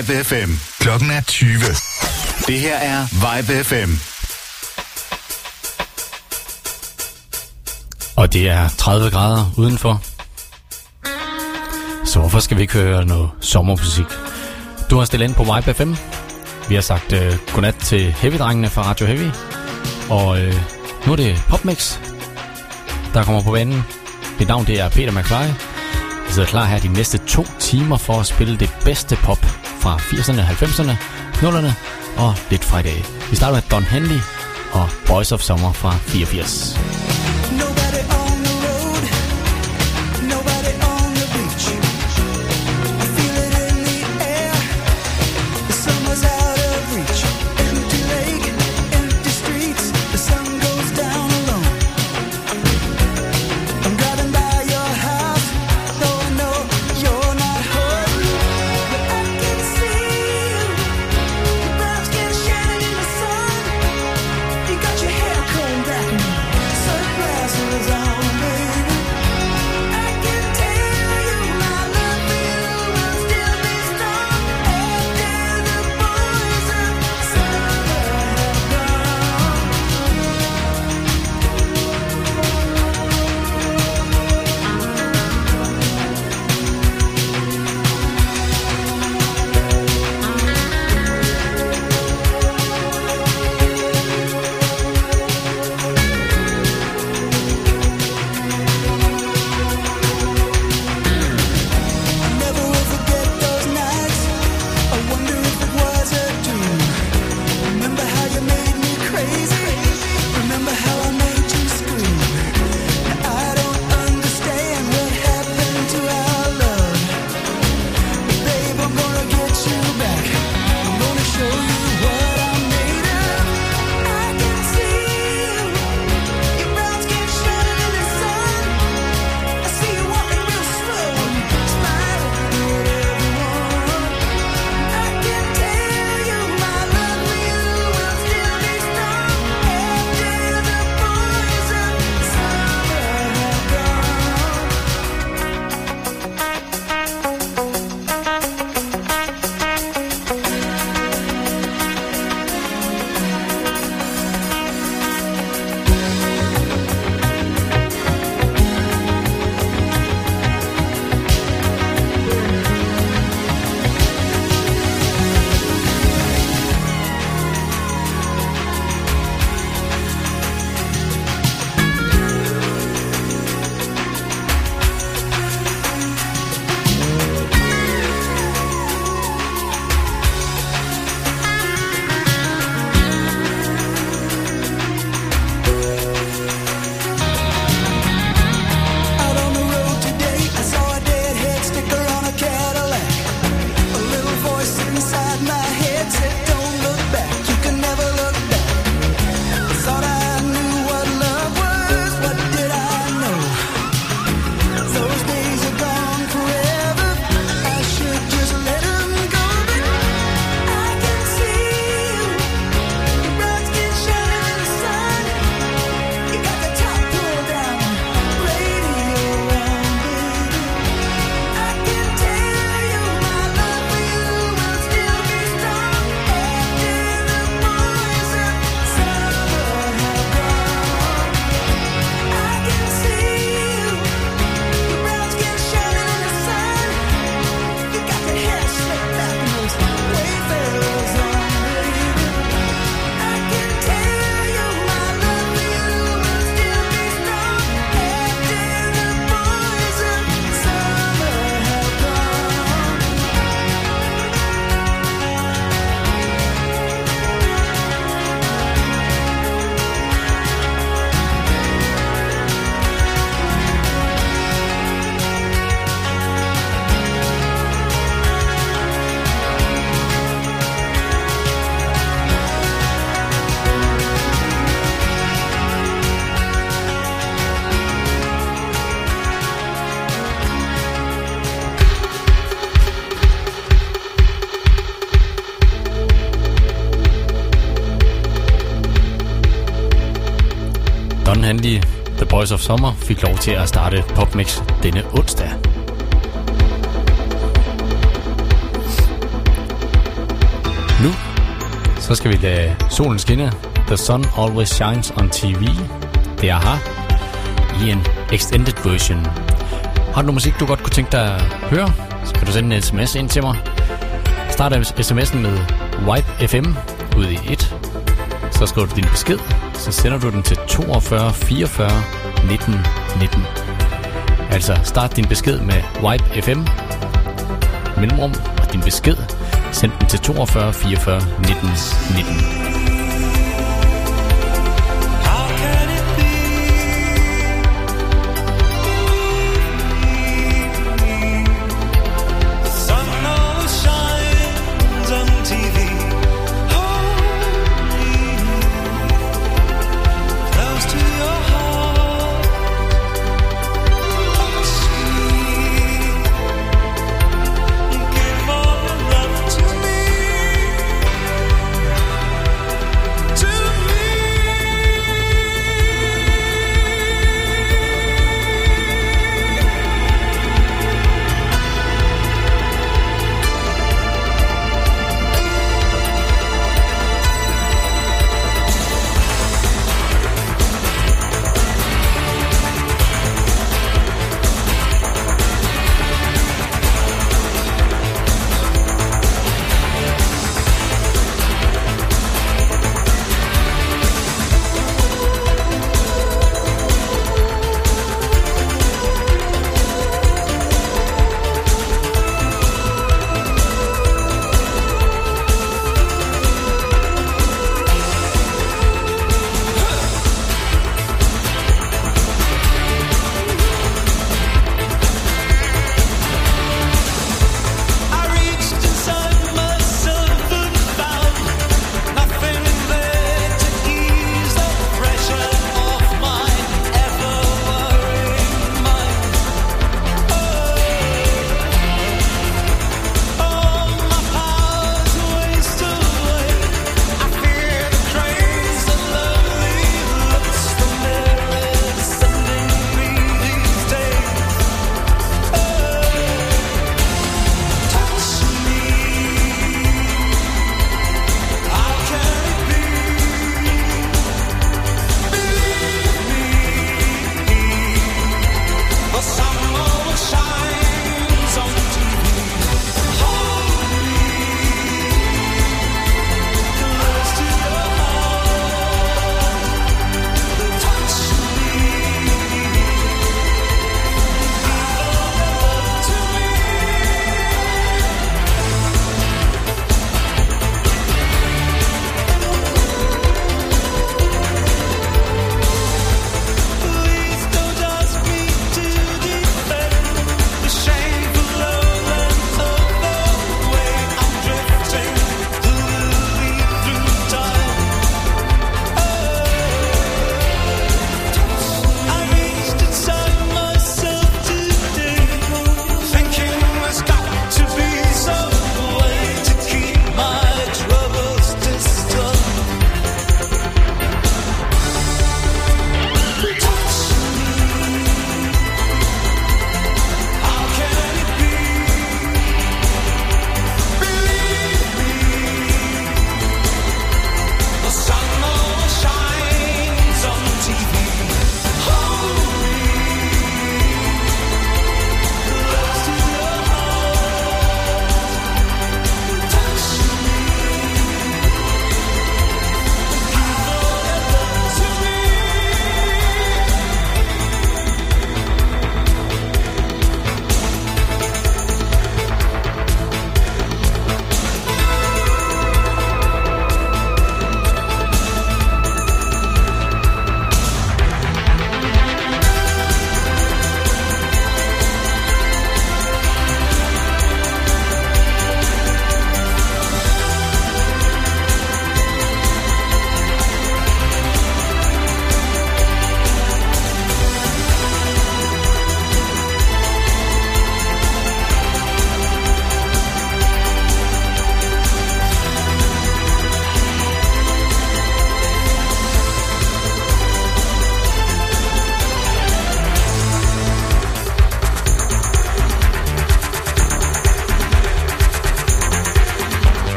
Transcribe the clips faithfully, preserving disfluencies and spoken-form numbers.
Vibe F M. Klokken er tyve. Det her er Vibe F M. Og det er tredive grader udenfor. Så hvorfor skal vi ikke høre noget sommermusik? Du har stillet ind på Vibe F M. Vi har sagt uh, godnat til Heavy-drengene fra Radio Heavy. Og uh, nu er det Popmix, der kommer på banen. Mit navn det er Peter McFly. Vi sidder klar her de næste to timer for at spille det bedste pop fra firserne, halvfemserne, nullerne og lidt fra i dag. Vi starter med Don Henley og Boys of Summer fra fireogfirs. Don Henley, The Boys of Summer, fik lov til at starte Popmix denne onsdag. Så skal vi lade solen skinne. The Sun Always Shines on T V. Det er her i en extended version. Har du noget musik, du godt kunne tænke dig at høre, så kan du sende en sms ind til mig. Start sms'en med Vibe F M ud i et. Så skriver du din besked, så sender du den til toogfyrre fireogfyrre nitten nitten. Altså start din besked med Vibe F M, mellemrum og din besked. Send den til toogfyrre fireogfyrre nitten nitten.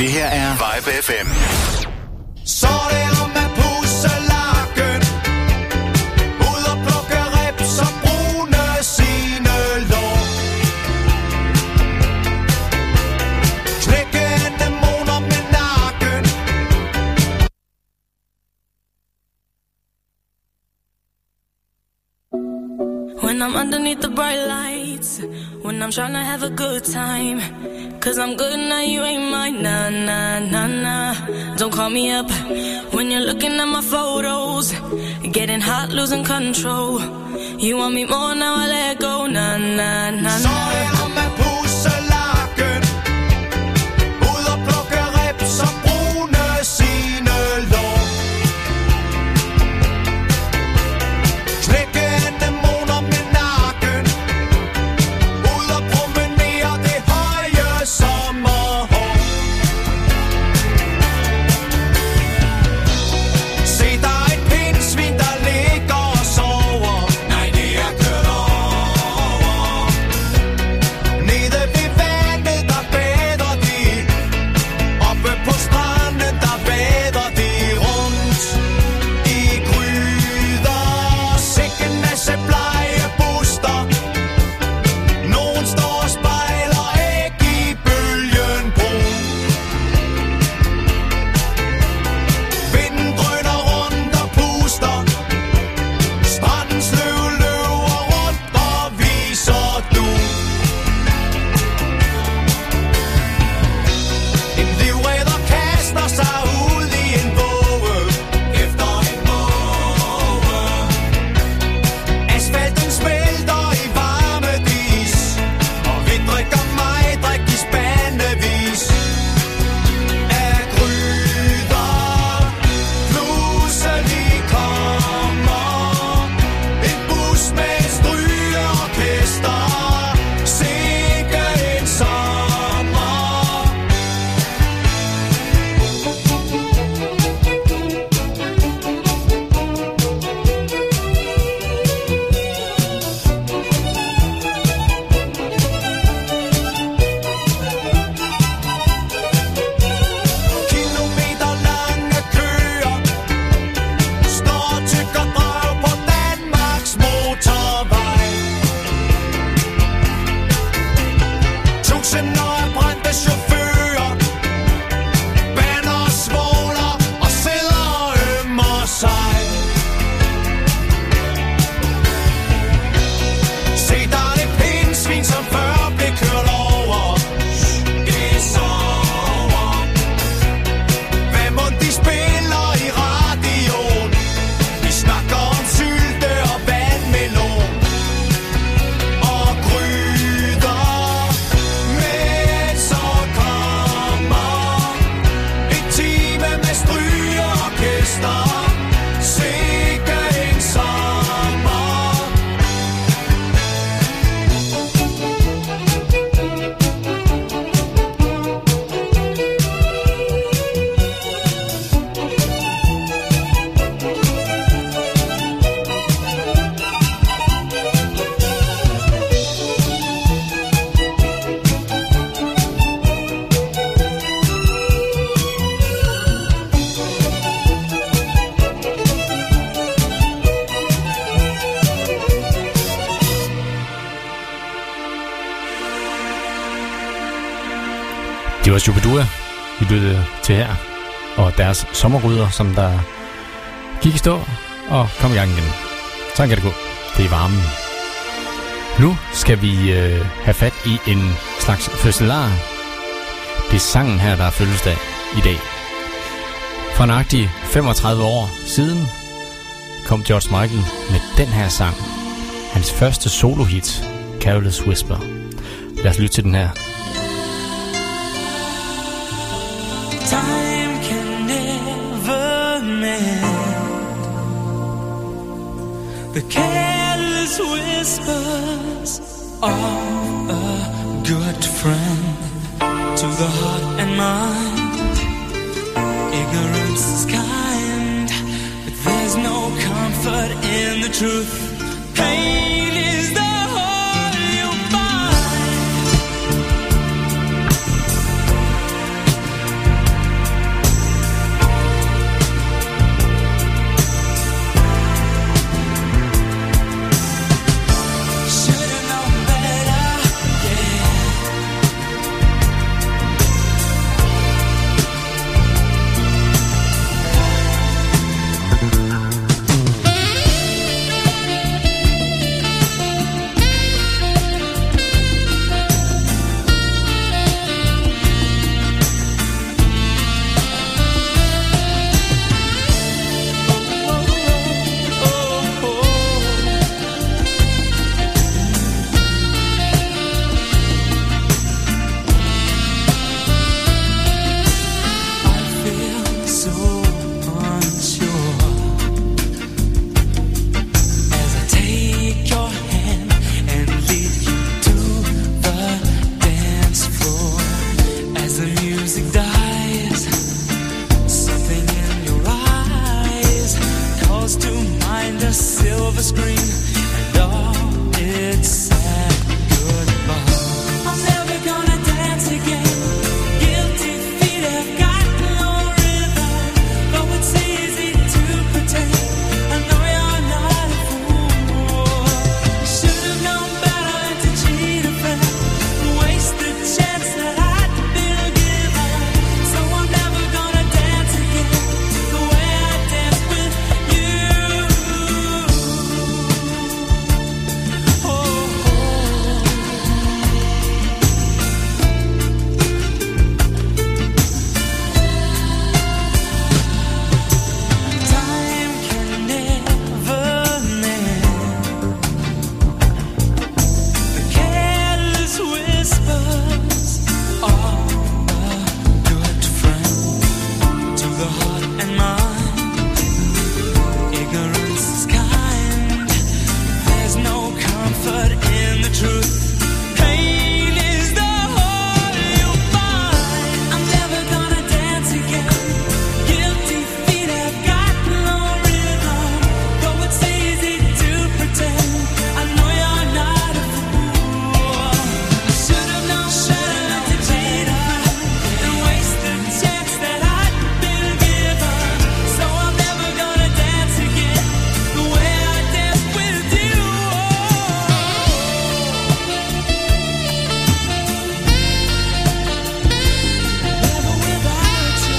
Det her er Vibe F M. Så det om at pusse lakken, ud og plukke rips og brune sine lår. Knække dæmoner med nakken. When I'm underneath the bright lights, when I'm trying to have a good time, cause I'm good now, you ain't mine, nah, nah, nah, nah. Don't call me up when you're looking at my photos, getting hot, losing control. You want me more, now I let go, nah, nah, nah, Så det om at pusse lakken, ud og plukke rips og brune sine lår. Knække dæmoner med nakken, ud og promenere det høje sommerhår. Se, der er et pindsvin, der ligger og sover. Nej, det er kørt over. Nede ved vandet, der bader de. Oppe på stranden, der bader de rundt i gryder. Sikke en masse blege buster. Nogen står og spejler æg i bølgen brun. Vinden drøner rundt og puster. Strandens løv løber rundt og viser du. En livredder kaster sig ud i en våge efter en måge. Asfalten smelter i varme dis, og vi drikker mig, drik i spandevis af gryder. Pludselig kommer en bus med et strygeorkester. Sikke en sommer. Kilometer lange køer står og tykker drag på Danmarks motorvej. Tusinder af brændte chauffører bander og svogler og sidder og ømmer sig. Se, der er det pindsvin, som før blev kørt over. Det sover. Hvad må de spiller i radioen? Vi snakker om sylte og vandmelon og gryder. Men så kommer et time med strygeorkester. Sikke en sommer. Det var Shubidua, vi lyttede til her, og deres sommerryder, som der gik i stå og kom i gang igen. Sådan kan det gå. Det er varmen. Nu skal vi øh, have fat i en slags fødselar. Det er sangen her, der er fødselsdag i dag. For nøjagtigt femogtredive år siden kom George Michael med den her sang. Hans første solohit, Careless Whisper. Lad os lytte til den her. Time can never mend the careless whispers of a good friend to the heart and mind. Ignorance is kind, but there's no comfort in the truth. Pain is the whole you find. silver screen, and all its sad goodbye. I'm never gonna dance again. Guilty feet have got no rhythm, though it's easy to pretend. I know you're not a fool. You should have known better than to cheat a friend, waste the chance that I'd been given. So I'm never gonna dance again the way I danced with you. Oh, time can never mend the careless whispers of a good friend to the heart and mind. Ignorance is kind. There's no comfort in the truth. Pain is the whole you'll find. I'm never gonna dance again. Guilty feet have got no rhythm, though it's easy to pretend. I know you're not a fool. Should have known better than to cheat a friend and waste the chance that I'd been given. So I'm never gonna dance again the way I danced with you. Never without you.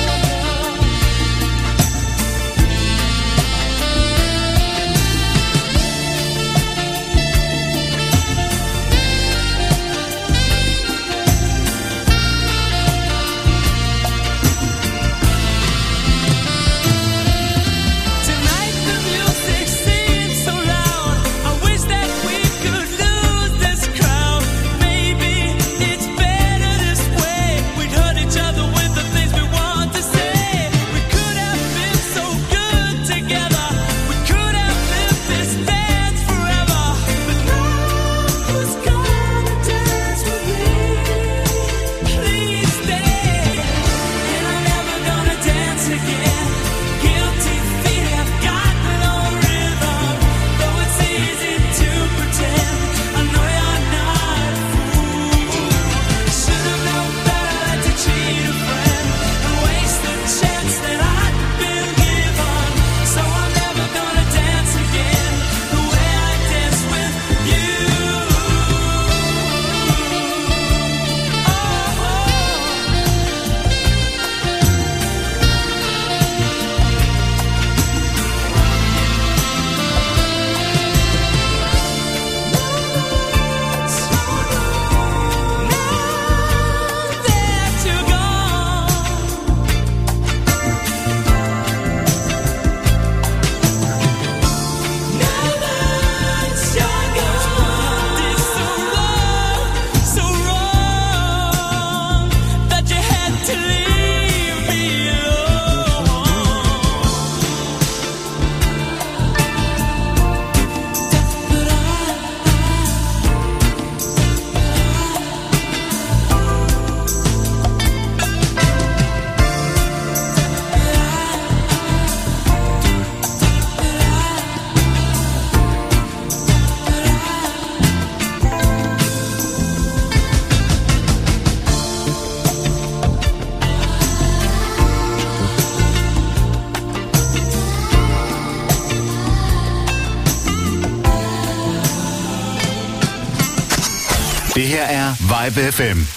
Tonight the music seems so loud. I wish that we could lose this crowd. Maybe it's better this way. We'd hurt each other with the things we want to say. We could have been so good together. We could have lived this dance forever. But now who's gonna dance with me? Please stay. And I'm never gonna dance again. Guilty feet have got no rhythm, though it's easy to pretend. I know you're not a fool. Should have known better than to cheat a friend and waste the chance that I'd been given. So I'm never gonna dance again the way I danced with you. Now that you're gone, now that you're gone, it's so wrong, so wrong that you had to leave me Det her er Vibe F M.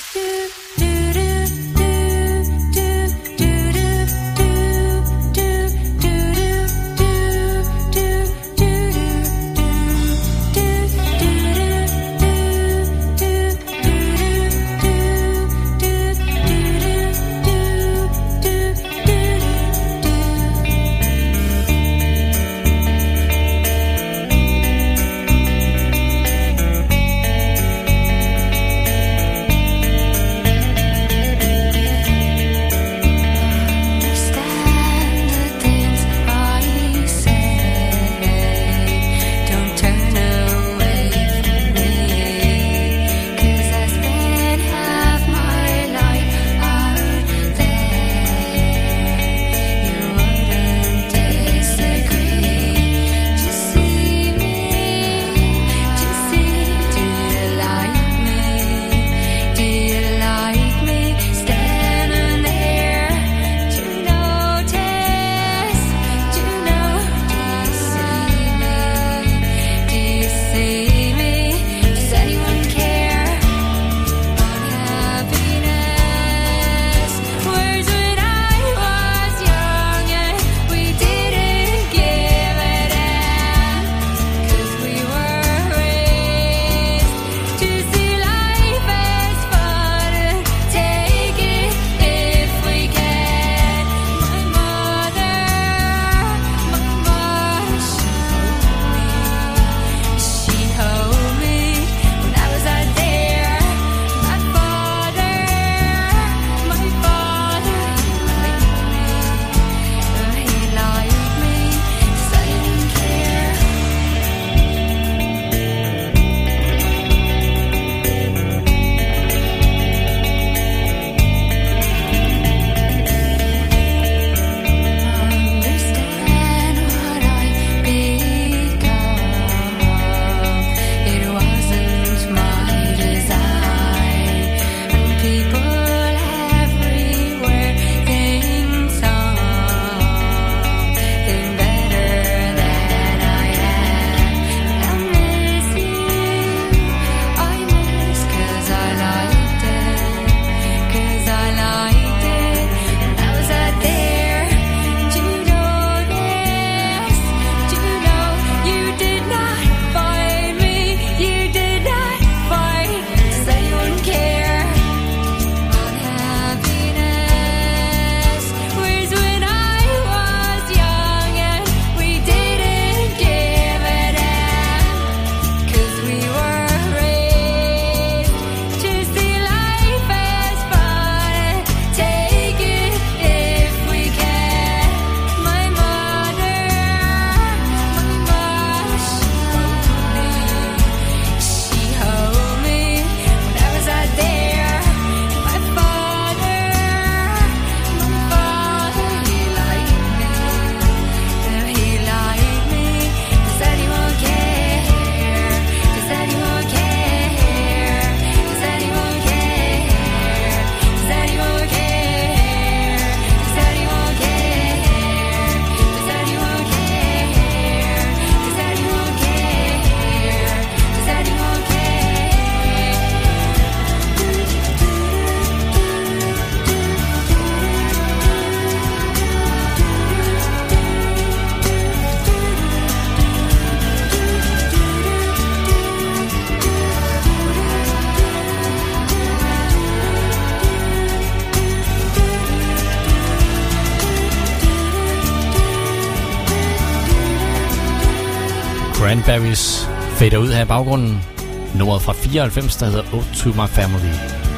Berries fader ud her i baggrunden. Nummeret fra fireoghalvfems, der hedder Ode to My Family.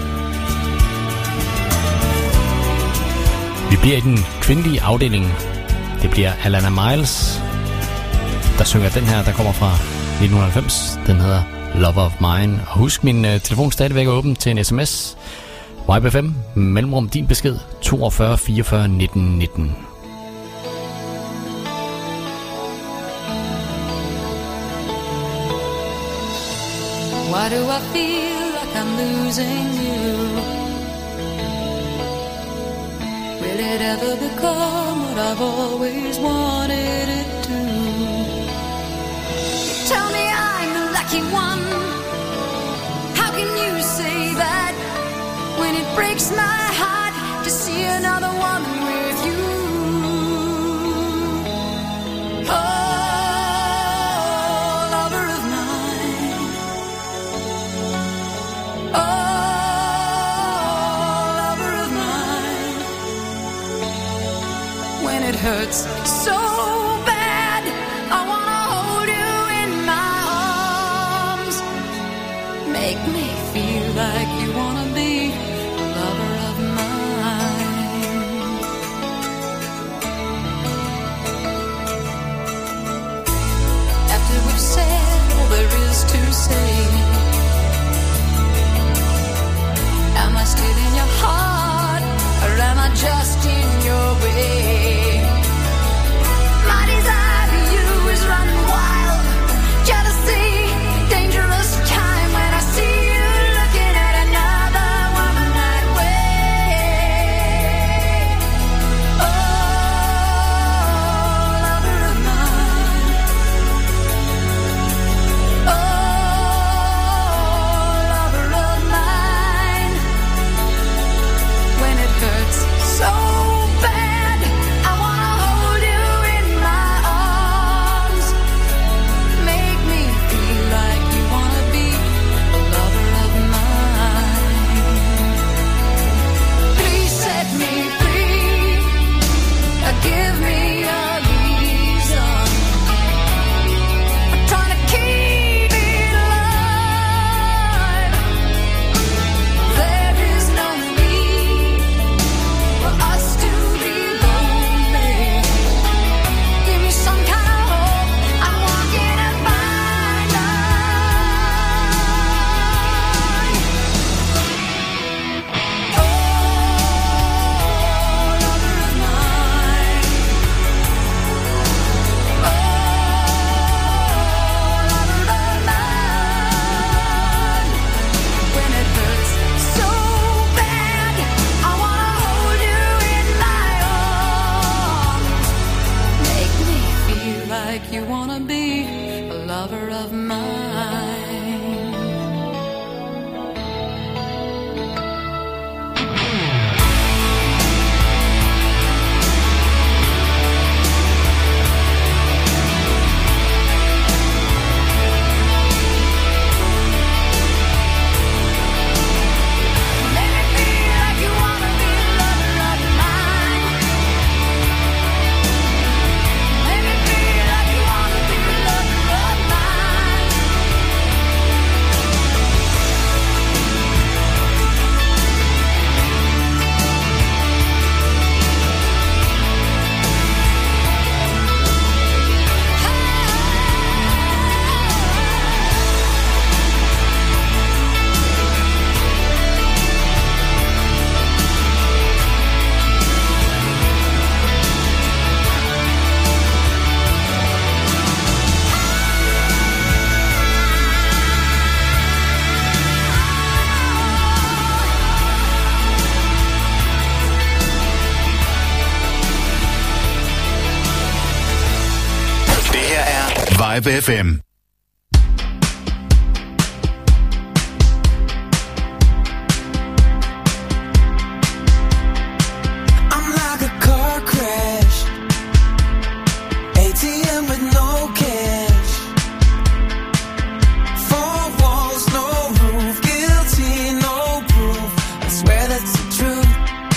Vi bliver i den kvindelige afdeling. Det bliver Alana Miles, der synger den her, der kommer fra nitten halvfems. Den hedder Lover of Mine. Og husk, min uh, telefon stadigvæk er åben til en sms. Y B F M, mellemrum din besked, toogfyrre fireogfyrre nitten nitten. Why do I feel like I'm losing you? Will it ever become what I've always wanted it to? Tell me I'm the lucky one. How can you say that when it breaks my heart to see another woman with you? Oh, hurts so bad. I wanna hold you in my arms. Make me feel like you wanna be a lover of mine. After we've said all there is to say, am I still in your heart, or am I just in your way? Running wild, jealousy, dangerous time when I see you looking at another woman that way. Oh, lover of mine. Oh, lover of mine. When it hurts so bad, I wanna hold you in my arms. Make me feel like you wanna be a lover of mine. Please set me free. Give me a reason. I'm trying to keep it alive. There is no need for us to be lonely. Give me some kind of hope. I'm walking a fine line. Oh, lover of mine. Oh, lover of mine. When it hurts so bad, I wanna hold you in my arms. Make me feel like you wanna be a lover of mine. Make me feel like you wanna be a lover of mine. Make me feel like you wanna be a lover of mine. Det her er Vibe F M. I'm like a car crash, A T M with no cash, four walls, no roof, guilty, no proof. I swear that's the truth.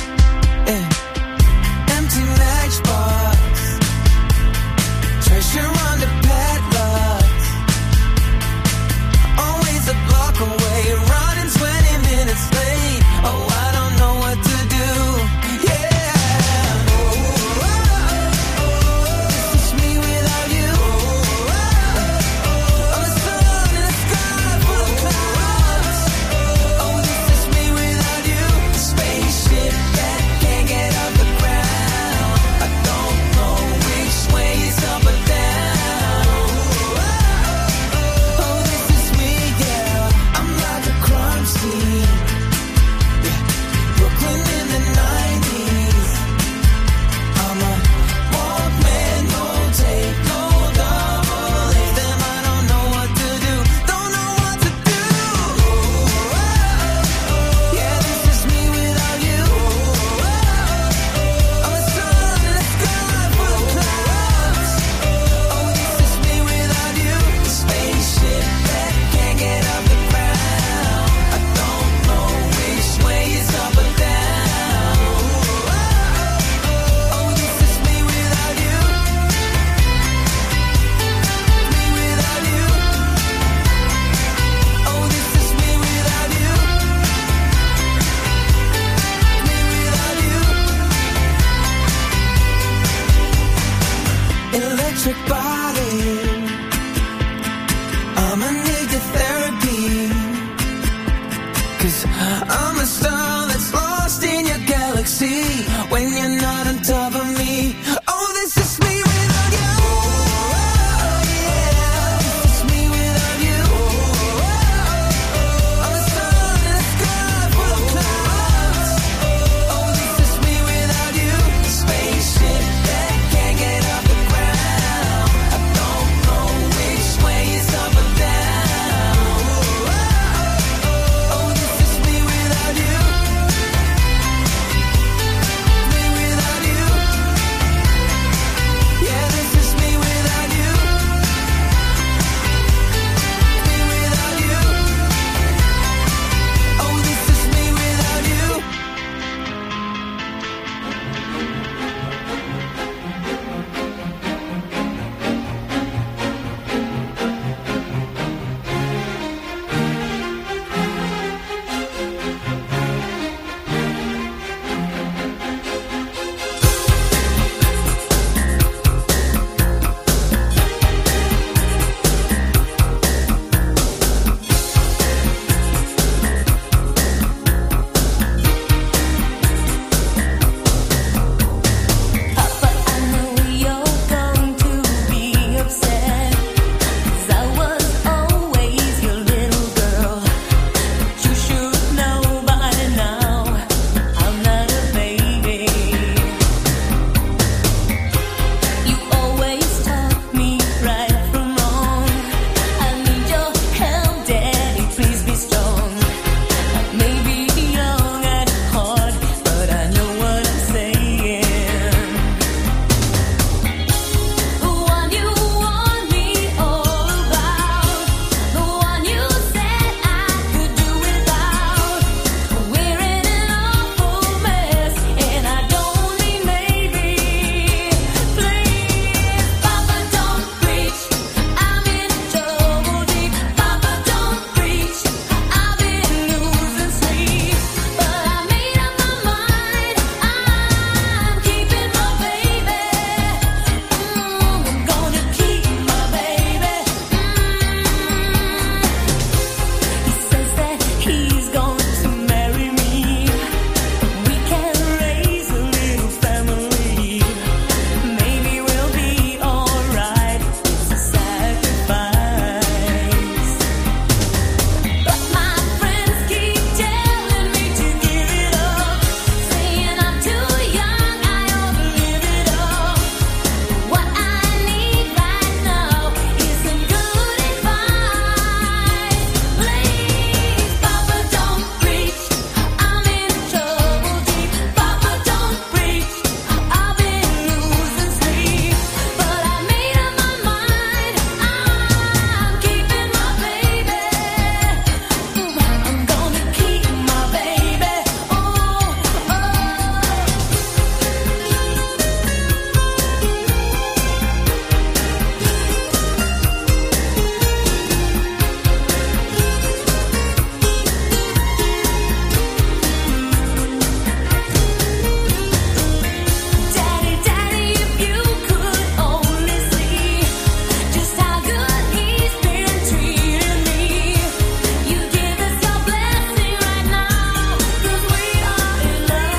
Yeah. Empty matchbox, treasure under padlocks. 'cause I'm a star that's lost in your galaxy. When you're not on top of me, oh, this is me without you. Oh, yeah, this is me without you. I'm a star in the sky full of clouds. Oh, this is me without you. Spaceship that can't get off the ground. I don't know which way is up or down. Oh, this is me without you. Me without you. Yeah, this is me without you. Me without you. Oh, this is me without you. Papa, I know you're going to be upset, 'cause I was always your little girl. But you should know by now, I'm not a baby. You always taught me right from wrong. I need your help, Daddy, please be strong. I may be young at heart, but I know what I'm saying. The one you warned me all about, the one you said I could do without. We're in an awful mess, and I don't mean maybe. Please, Papa, don't preach. I'm in trouble deep. Papa, don't preach. I've been losing sleep, but I made up my mind. I'm keeping my baby. Mm, I'm gonna keep my baby. Mm. He says that he's going to marry me. We can raise a little family. Maybe we'll be alright. It's a sacrifice. But my friends keep telling me to give it up, saying I'm too young, I ought to live it up. What I need right now is some good advice. Please, Papa, don't preach. I'm in trouble deep. Papa, don't preach. I've been losing sleep, but I made up my mind. I'm keeping my baby. Mm, I'm gonna keep my baby. Oh, oh. Daddy, Daddy, if you could only see just how good he's been treating me. You give us your blessing right now, 'cause we are in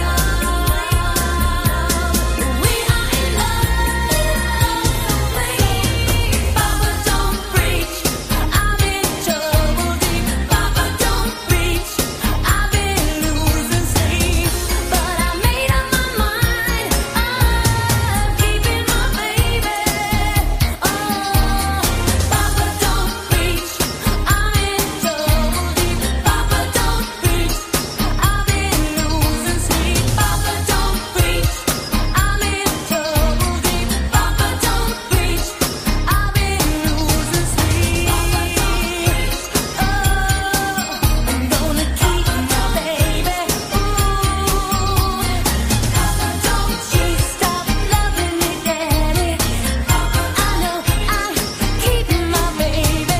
love. We are in love. Please, Papa, don't preach. I'm in trouble deep. Papa, don't preach. I've been losing sleep, but I made up my mind. I'm keeping my baby. Oh, Papa, don't preach. I'm in trouble deep. Papa, don't preach. I've been losing sleep. Papa, don't preach. I'm in trouble deep. Papa, don't preach. I've been losing sleep. Oh, I'm gonna keep my baby. Ooh, Papa, don't you stop loving me, Daddy. I know I'm keeping my baby.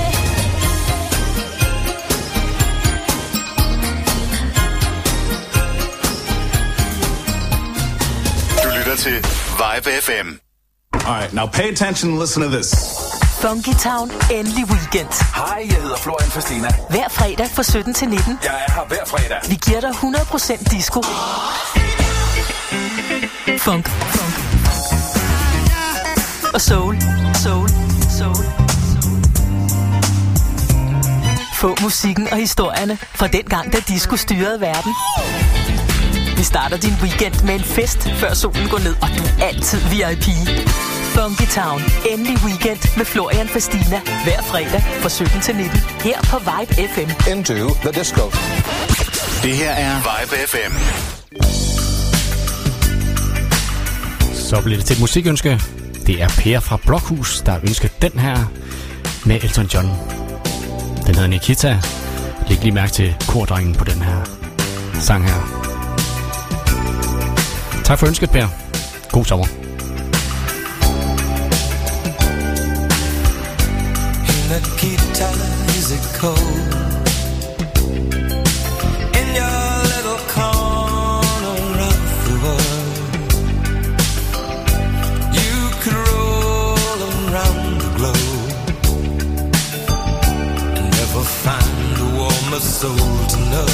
Du lytter til Vibe F M. All right, now pay attention and listen to this. Funky Town, endelig weekend. Hej, jeg hedder Florian Fastina. Hver fredag fra sytten til nitten. Jeg er her hver fredag. Vi giver dig hundrede procent disco. Funk. Funk. Og soul. Soul. Soul. Få musikken og historierne fra den gang, da disco styrede verden. Vi starter din weekend med en fest, før solen går ned, og du er altid V I P. Funky Town, endelig weekend med Florian Fastina. Hver fredag fra sytten til nitten. Her på Vibe F M. Into the disco. Det her er Vibe F M. Så bliver det til et musikønske. Det er Per fra Blokhus, der ønsker den her med Elton John. Den hedder Nikita. Læg lige mærke til kordrengen på den her sang her. Tak for ønsket, Per. God sommer. Nikita, is it cold in your little corner of the world? You could roll around the globe and never find a warmer soul to know.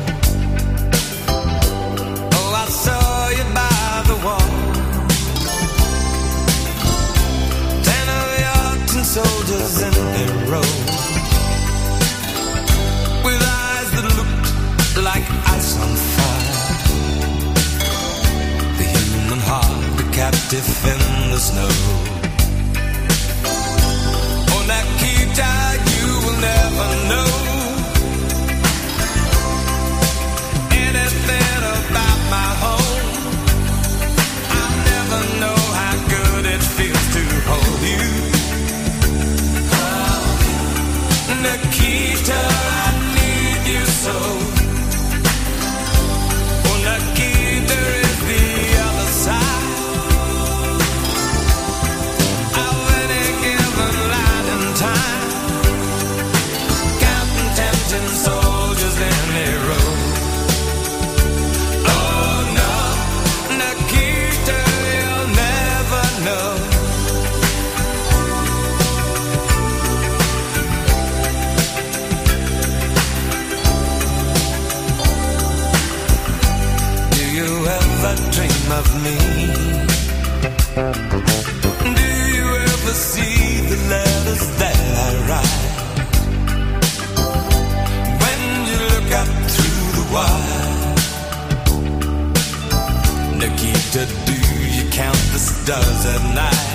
Oh, I saw you by the wall, ten of your tin soldiers in their row, with eyes that looked like ice on fire. The human heart, a captive in the snow. Oh, Nikita, you will never know anything about my home. I'll never know how good it feels to hold you. Nikita, I need you so. Oh, Nikita is the other side of any given light and time. Counting tempting soldiers in a row. Oh no, Nikita, you'll never know. Dream of me? Do you ever see the letters that I write? When you look up through the wire, Nikita, do you count the stars at night?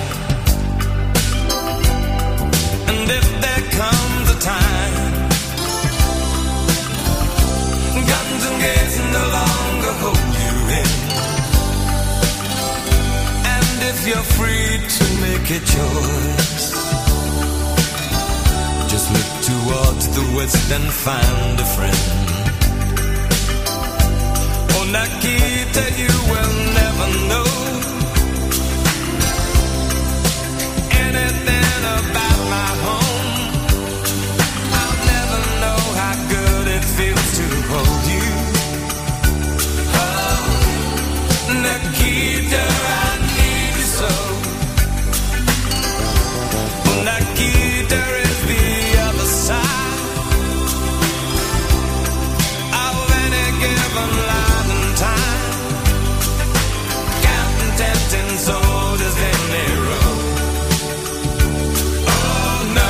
And if there comes a time guns and gates no longer hold you in, if you're free to make a choice, just look towards the west and find a friend. Oh, Nikita, you will never know anything about my home. I'll never know how good it feels to hold you. Oh, Nikita, I so Nikita is the other side of any given light and time. Counting tempting soldiers in a row. Oh no,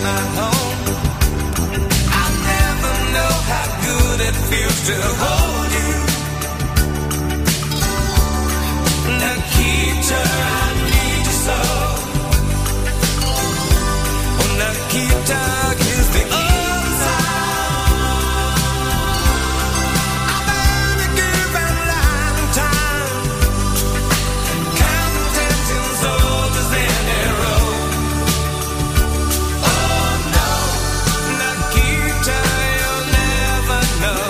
my home. I never know how good it feels to hold you. Nikita, I need you so. Oh, Nikita, kiss the answer. I've been given a long time, counting ten soldiers in a row. Oh no, Nikita, you'll never know.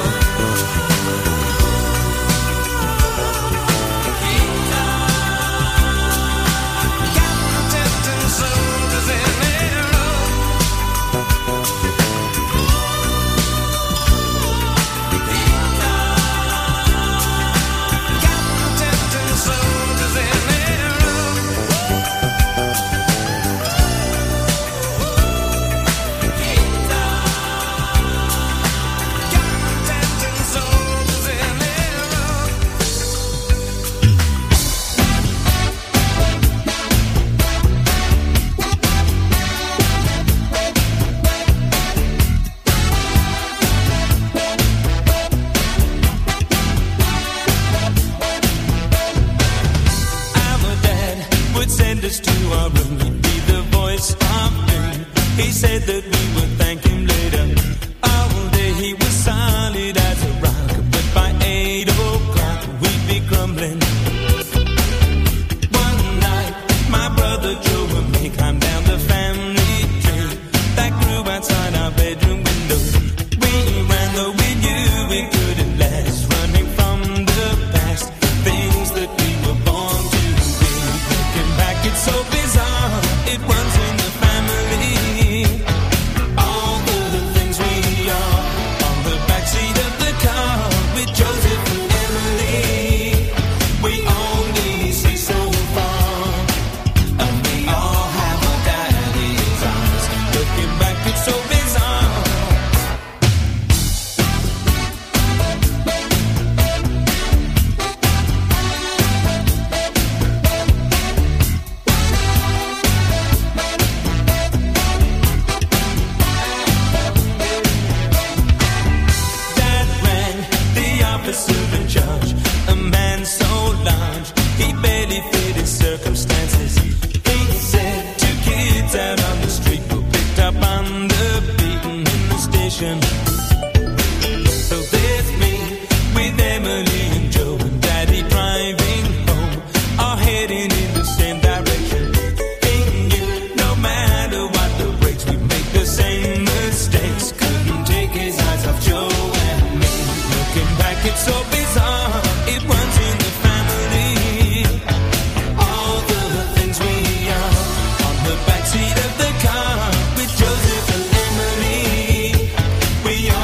We are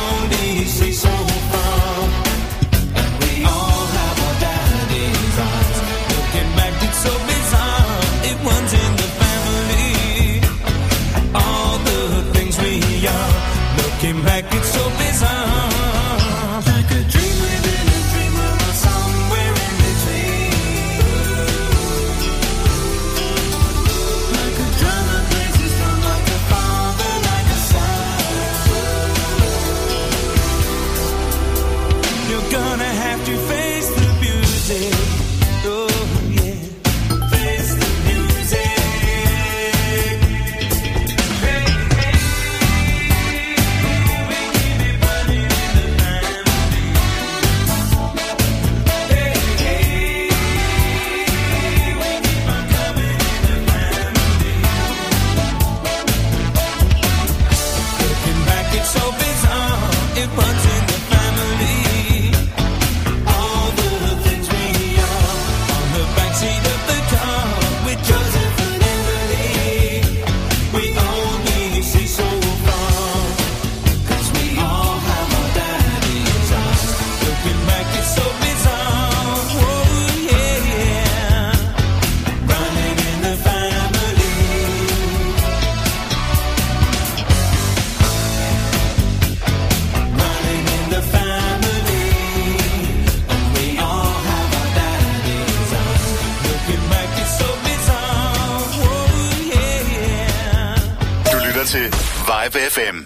til Vibe F M.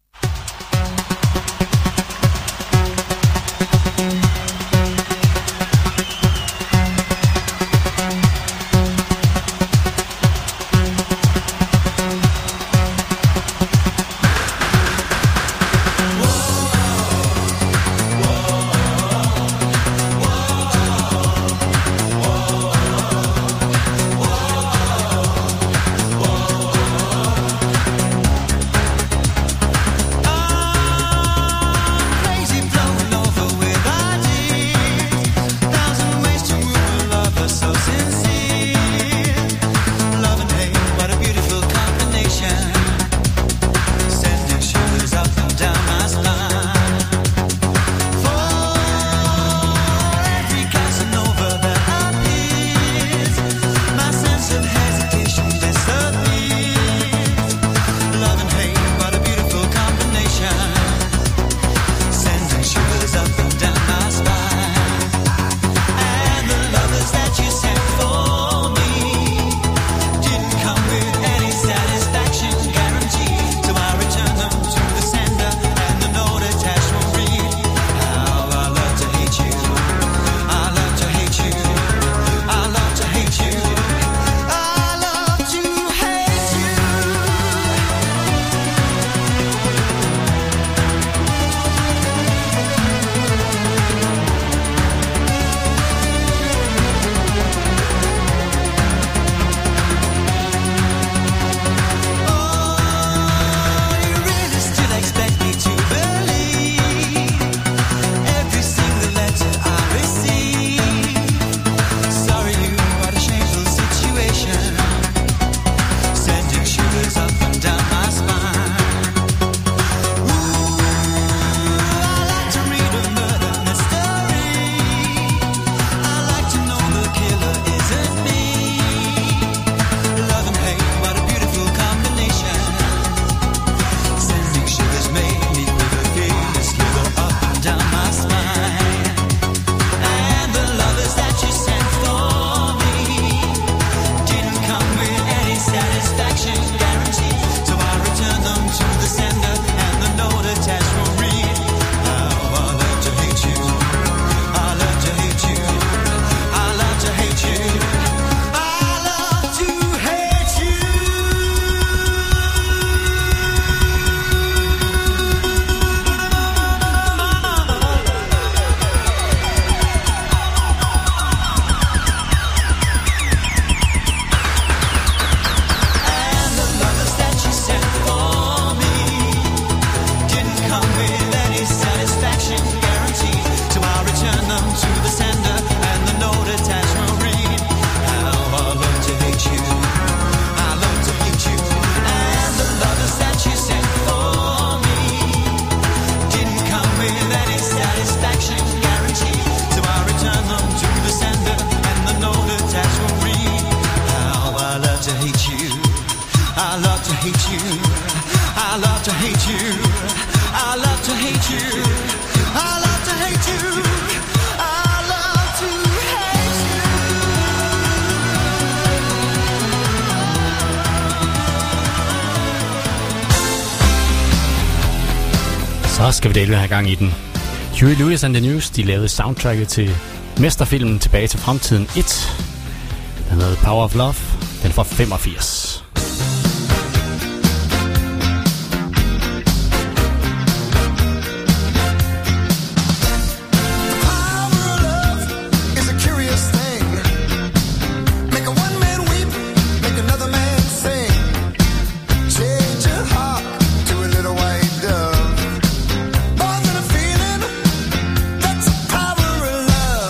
Så skal vi dele have gang i den. Huey Lewis and the News, de lavede soundtracket til mesterfilmen Tilbage til Fremtiden et. Den hedder Power of Love. Den er fra femogfirs.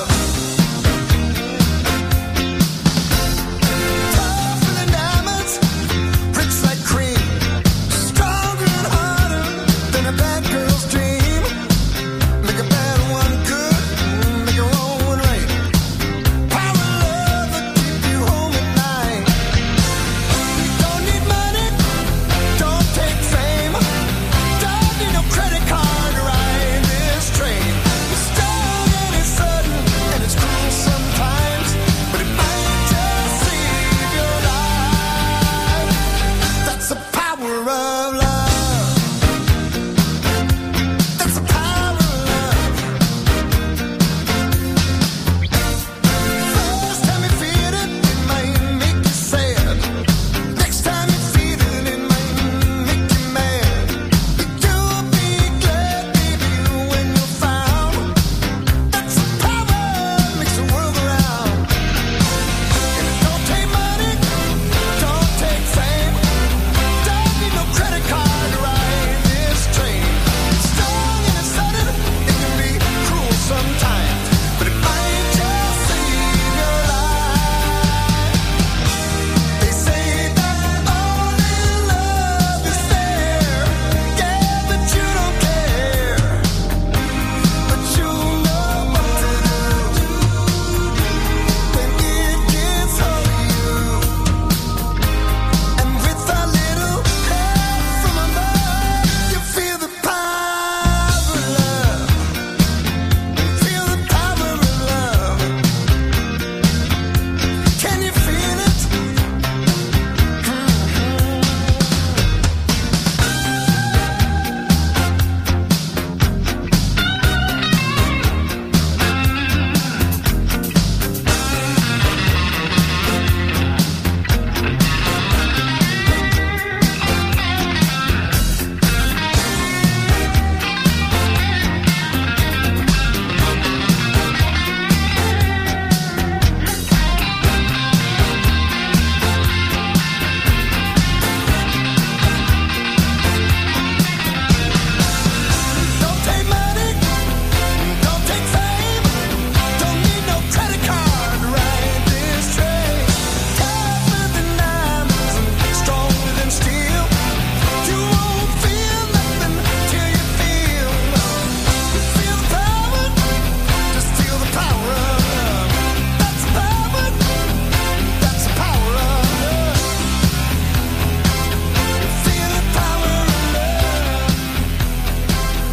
Tougher than diamonds.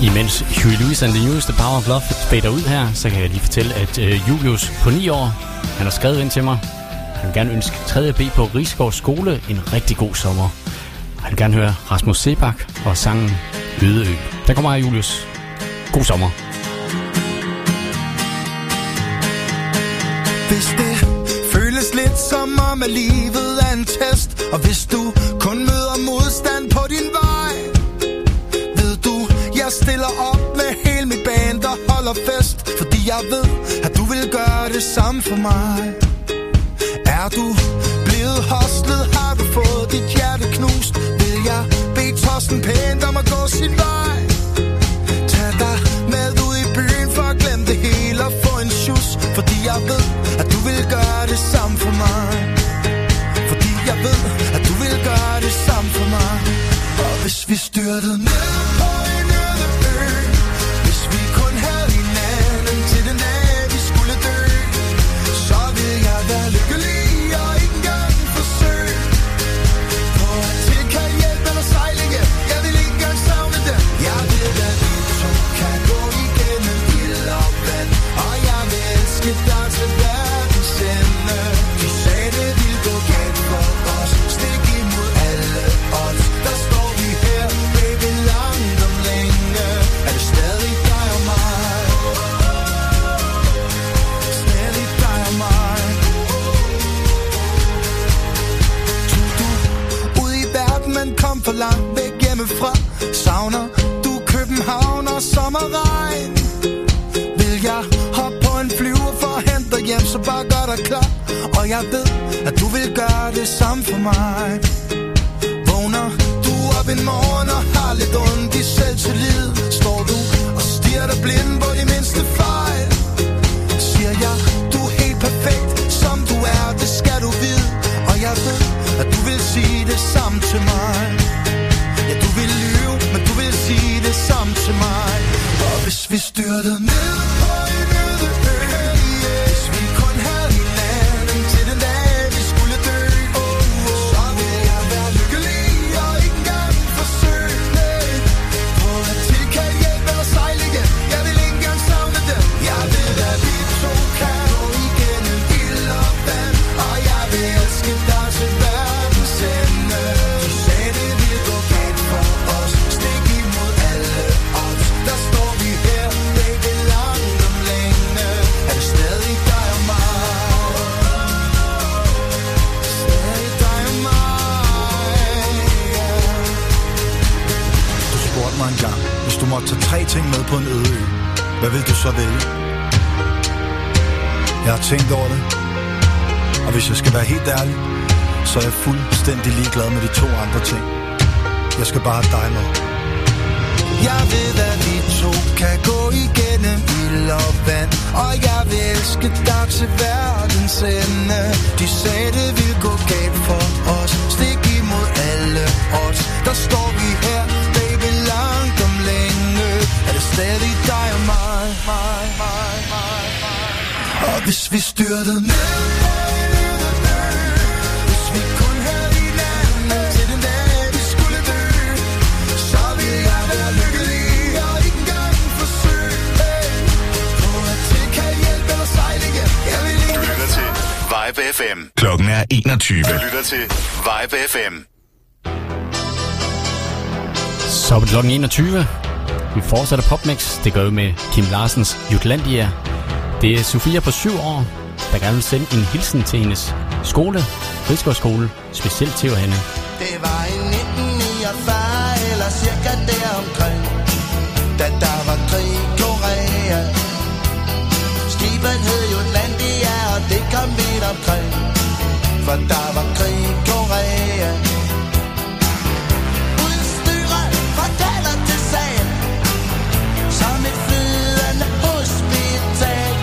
Imens Huey Lewis and the News, The Power of Love, fader ud her, så kan jeg lige fortælle, at øh, Julius på ni år, han har skrevet ind til mig. Han vil gerne ønske tredje B på Risgaard Skole en rigtig god sommer. Han vil gerne høre Rasmus Sebak og sangen Øde Ø. Der kommer her, Julius. God sommer. Hvis det føles lidt som om, at livet er en test, og hvis du kun møder modstand på din vej, ved du, jeg stiller op med hele mit band og holder fest, fordi jeg ved, at du vil gøre det samme for mig. Er du blevet hostlet, har du fået dit hjerte knust, vil jeg bede Torsten pænt om at gå sin vej. Tag dig med ud i byen for at glemme det hele og få en sjus, fordi jeg ved, at du vil gøre det samme for mig. Fordi jeg ved, at du vil gøre det samme for mig. Og hvis vi styrtede ned på en øde ø, hvis vi kun havde hinanden til den dag vi skulle dø, så vil jeg være lykkelig og ikke engang forsøge på at tilkalde hjælp eller sejlinge. Jeg vil ikke engang savne det. Jeg ved, at vi to kan gå igennem ild og vand, og jeg vil elske dig til verdens ende. De sagde det ville gå galt for os, stik imod alle odds. Der står vi her, baby, langt om længe. Er det stadig dig og mig? Stadig dig og mig. Tog du ud i verden, men kom for langt væk hjemmefra? Savner du København og sommerregn? Vil jeg hoppe på en flyver for at hente dig hjem, så bare gør dig klar. Og jeg ved, at du vil gøre det samme for mig. Vågner du op en morgen og har lidt ondt i selvtillid, står du og stirrer dig blind på de mindste fejl. Siger jeg, du er helt perfekt, som du er, det skal du vide. Og jeg ved, at du vil sige det samme til mig. Ja, du vil lyve, men du vil sige det samme til mig. Og hvis vi styrtede ned på en øde ø, hvis vi kun havde hinanden til den dag vi skulle dø, så vil jeg være lykkelig og ikke engang forsøge på at tilkalde hjælp eller sejlinge. Jeg vil ikke engang savne det. Jeg ved, at vi to kan gå igennem ild og vand, og jeg vil elske dig til verdens ende. Du sagde det ville gå galt for os, stik imod alle odds. Der står vi her, baby, langt om længe. Er det stadig dig og mig? Stadig dig og mig, yeah. Du spurgte mig engang, hvis du måtte tage tre ting med på en øde ø, hvad vil du så vælge? Jeg har tænkt over det, og hvis jeg skal være helt ærlig, så er jeg fuldstændig ligeglad med de to andre ting. Jeg skal bare have dig med. Jeg ved, at vi to kan gå igennem ild og vand, og jeg vil elske dig til verdens ende. De sagde, det ville gå galt for os, stik imod alle odds. Der står vi her, baby, langt om længe. Er det stadig dig og mig? mig, mig, mig, mig. Og hvis vi styrtede ned på en øde ø, hvis vi kun havde hinanden til den dag vi skulle dø, så ville jeg være lykkelig og ikke engang forsøge på at tilkalde hjælp eller sejlinge. Jeg vil ikke. Du lytter til Vibe F M. Klokken er enogtyve. Du lytter til Vibe F M. Så er det klokken enogtyve. Vi fortsætter PopMix. Det gør vi med Kim Larsens Jutlandia. Det er Sofia på syv år, der gerne vil sende en hilsen til hendes skole, Risgaard Skole, specielt til hende. Det var i nitten niogfyrre eller cirka deromkring, da der var krig i Korea. Skibet hed Jutlandia, og det kom vidt omkring, for der var krig i Korea. Udstyret fra daler til sal, som et flydende hospital.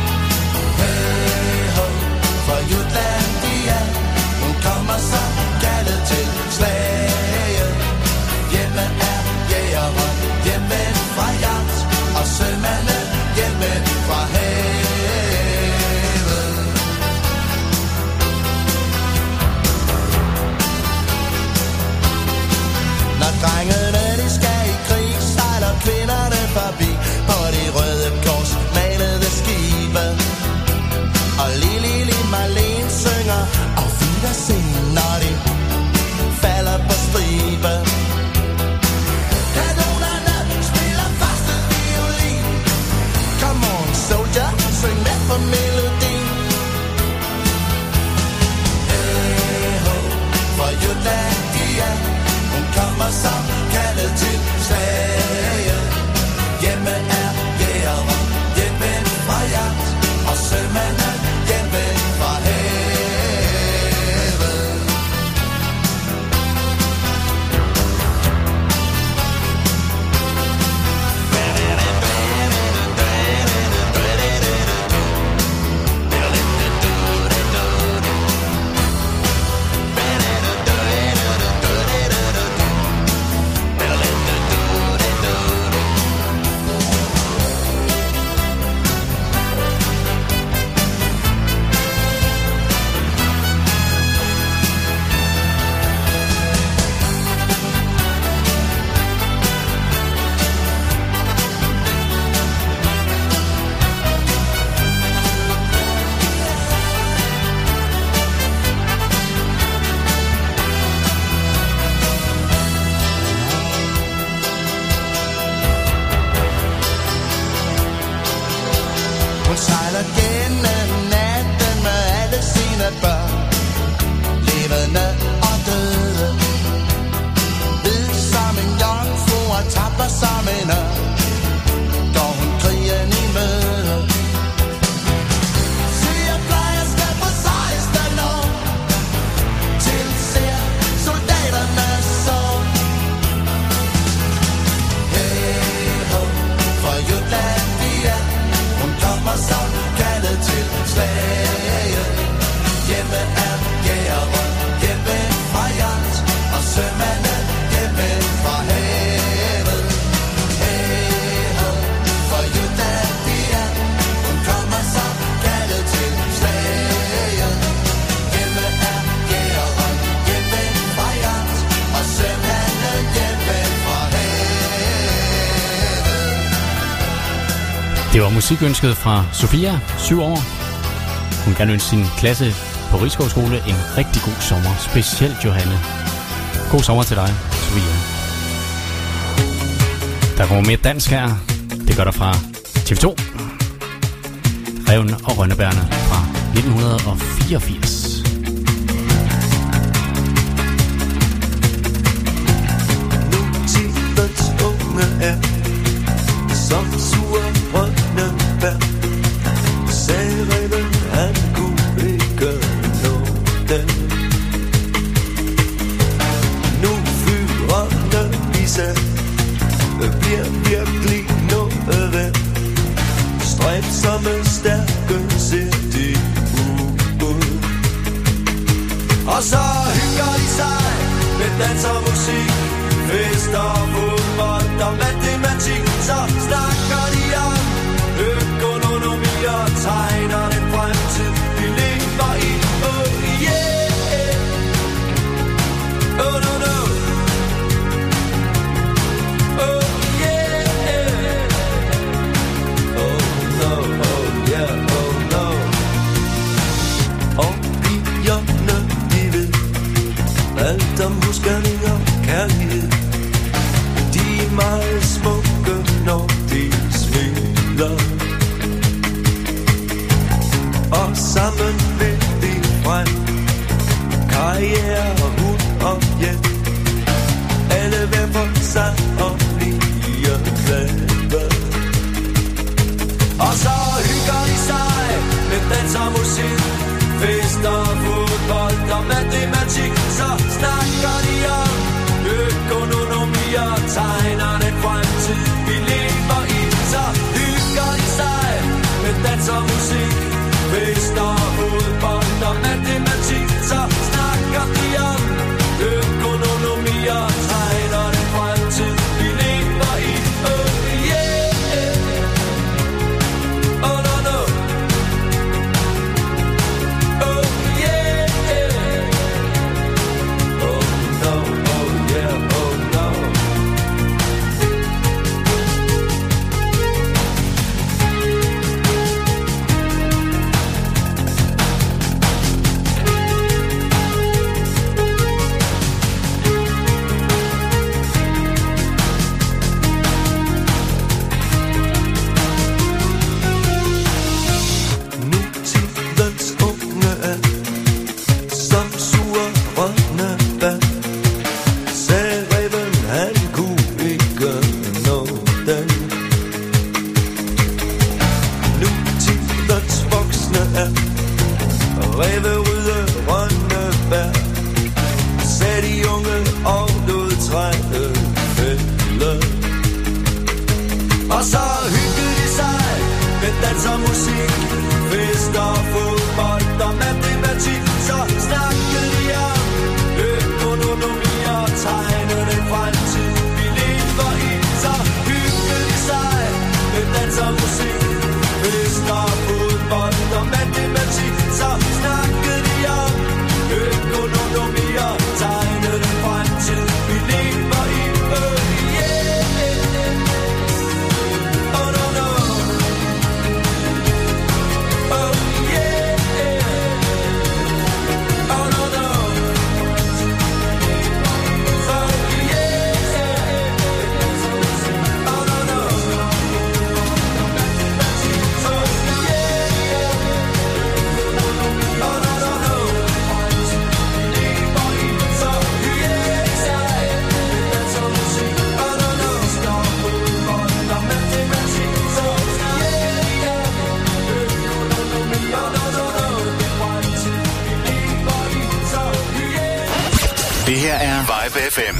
Hey ho, for Jutlandia, hun kommer så gerne. er. Hun kommer som kaldet til slaget. Hjemme er jægeren, hjemme fra jagt, og sømanden hjemme fra havet. Hun sejler gennem natten med alle sine børn, levende og døde. Hvid som en jomfru og tapper som en ørn, går hun krigen i møde. Sygeplejerske på seksten år, tilser soldaterne så. Hey ho, for Jutland vi er. Hun kommer som kaldet til slaget. Hjemme er jægeren, hjemme fra jagt, og sømanden hjemme fra havet. Hey ho, for Jutland vi er. Hun kommer som kaldet til slaget. Hjemme er jægeren, hjemme fra jagt, og sømanden hjemme fra havet. Det var musikønsket fra Sofia, syv år. Hun kan ønske sin klasse på Risskov Skole en rigtig god sommer. Specielt Johanne. God sommer til dig, Sofia. Der kommer mere dansk her. Det gør der fra T V to. Ræven og Rønnebærne fra nitten fireogfirs. Nutidens unge er som sure rønnebær. Sagde ræven, han kunne ikke nå den. Nu fyrerne i sig bliver virkelig noget værd. Stræbsomme stærke ser de ud. Og så hygger de sig med dans og musik, fester, fodbold og matematik. Så snakker de om økonomi og tegner den fremtid, vi lever i. Oh yeah, oh no no, oh yeah, oh no, oh yeah, oh no. Og pigerne, de ved alt om husgerning og kærlighed. De er meget smukke, når de smiler. Og sammen vil de frem. Karriere, hund og hjem. Alle hver for sig og bliver glade. Og så hygger de sig med dans og musik, fester, fodbold og matematik. Så snakker de om økonomi og tegner den fremtid, vi lever i. Så hygger de sig med dans og musik, fester, fodbold og matematik. Så snakker de om økonomi og tegner den fremtid, vi lever i. Oh yeah, oh no no, oh yeah, oh no, oh yeah, oh no. her er Vibe F M.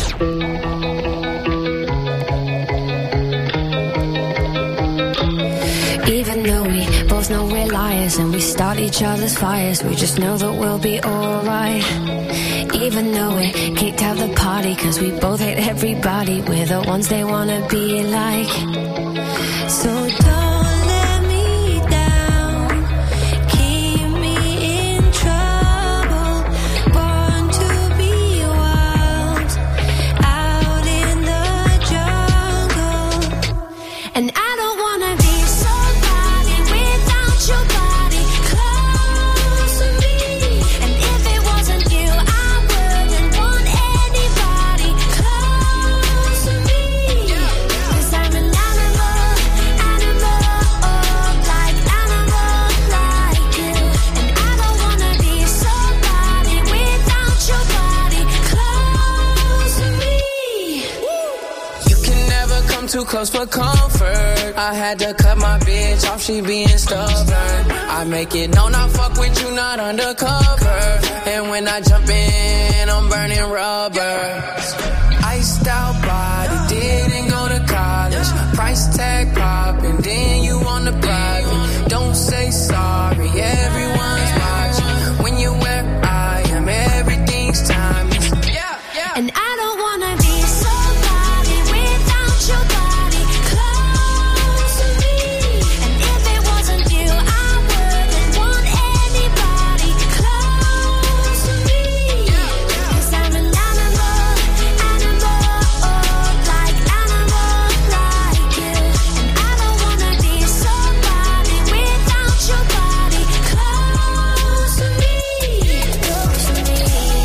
Even though we both know we're liars and we start each other's fires, we just know that we'll be alright. Even though we kicked out the party cause we both hate everybody, we're the ones they wanna be like. So don't let me down, keep me in trouble, born to be wild, out in the jungle. And I don't wanna be somebody without your body close to me. And if it wasn't you, I wouldn't want anybody close to me. Cause I'm an animal, animal, like animal like you. And I don't wanna be somebody without your body close to me. You can never come too close for comfort. I had to cut my bitch off, she being stubborn. I make it known I fuck with you, not undercover. And when I jump in, I'm burning rubber. Iced out body, didn't go to college. Price tag popping, then you on the private. Don't say sorry, everyone's watching. When you're where I am, everything's timeless. And I don't wanna be somebody without your body close to me. And if it wasn't you, I wouldn't want anybody close to me. Cause I'm an animal, animal, like animal like you. And I don't wanna be somebody without your body close to me. Close to me.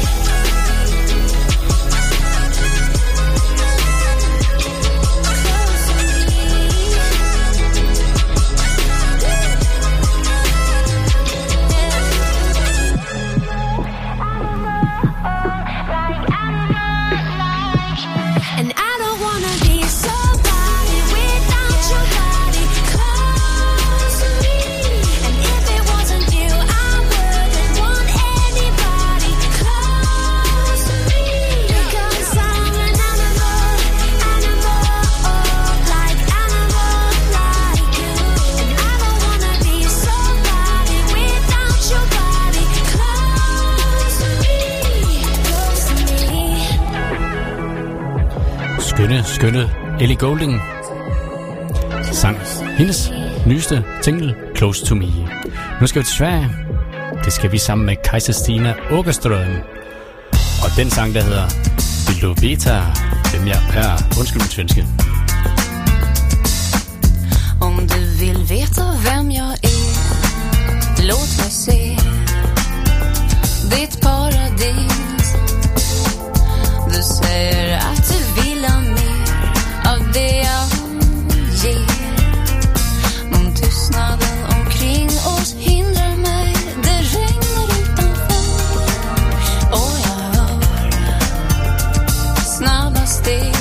And I don't wanna be somebody without your body close to me. And if it wasn't you, I wouldn't want anybody close to me. Because I'm an animal, animal, like animal like you. And I don't wanna be somebody without your body close to me. Close to me. Skønne, skønne Ellie Goulding sang hendes nyeste single, Close to Me. Nu skal vi til Sverige. Det skal vi sammen med Kajsa Stina Åkerström. Og den sang, der hedder Vill du veta hvem jeg er? Undskyld min svenske. Om du vill veta vem jag är, låt mig se ditt paradis. Du säger att du vill ha mer av det jag ger. Om tystnaden omkring oss hindrar mig, det regnar utanför. Och jag hör snabba steg.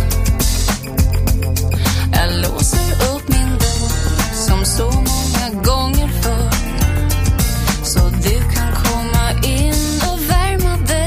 Jag låser upp min dörr som så många gånger förr, så du kan komma in och värma dig.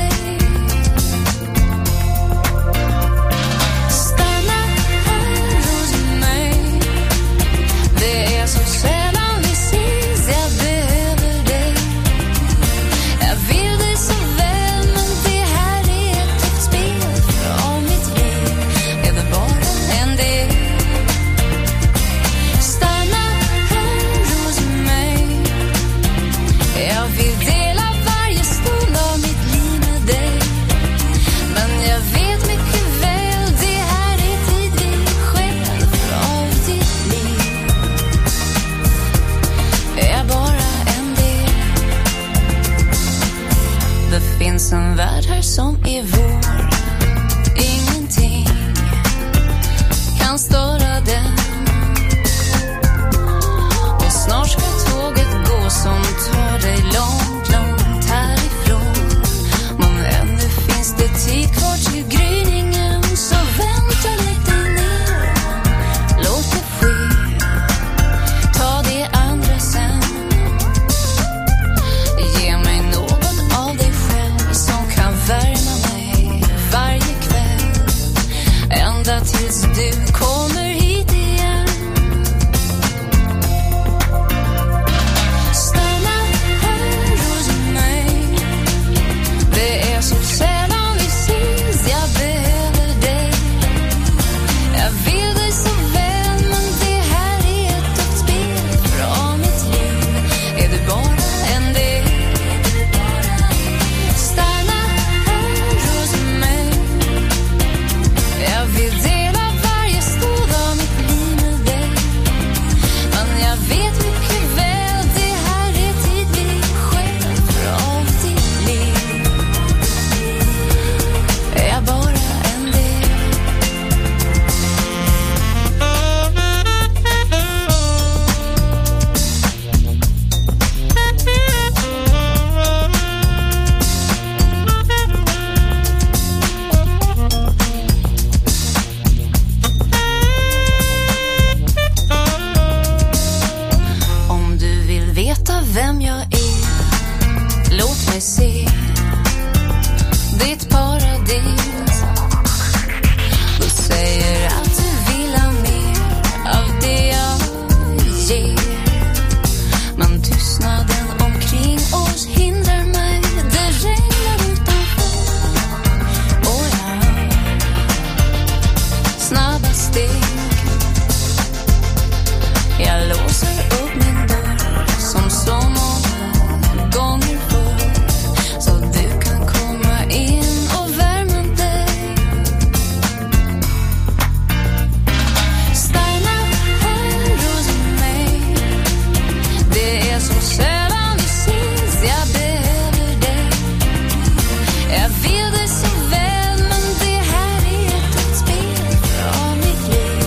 tills du kommer hit igen. Stanna här hos mig. Det är så sällan vi ses, jag behöver dig. Jag vill dig så väl, men det här är ett dött spel. För av mitt liv är du bara en del. Stanna här hos mig. Jag vill dela varje stund av mitt liv med dig. Men jag vet mycket väl, det här är tid vi själv. För av ditt liv är jag bara en del. Om du vill veta vem jag är, låt mig se ditt paradis. Du säger att du vill ha mer av det jag ger. Men tystnaden omkring oss hindrar mig. Det regnar utanför och jag hör snabba steg. Jag låser upp min dörr som så många gånger förr, så du kan komma in och värma dig. Stanna här hos mig. Det är så sällan vi ses, jag behöver dig. Jag vill dig så väl, men det här är ett dött spel. För av mitt liv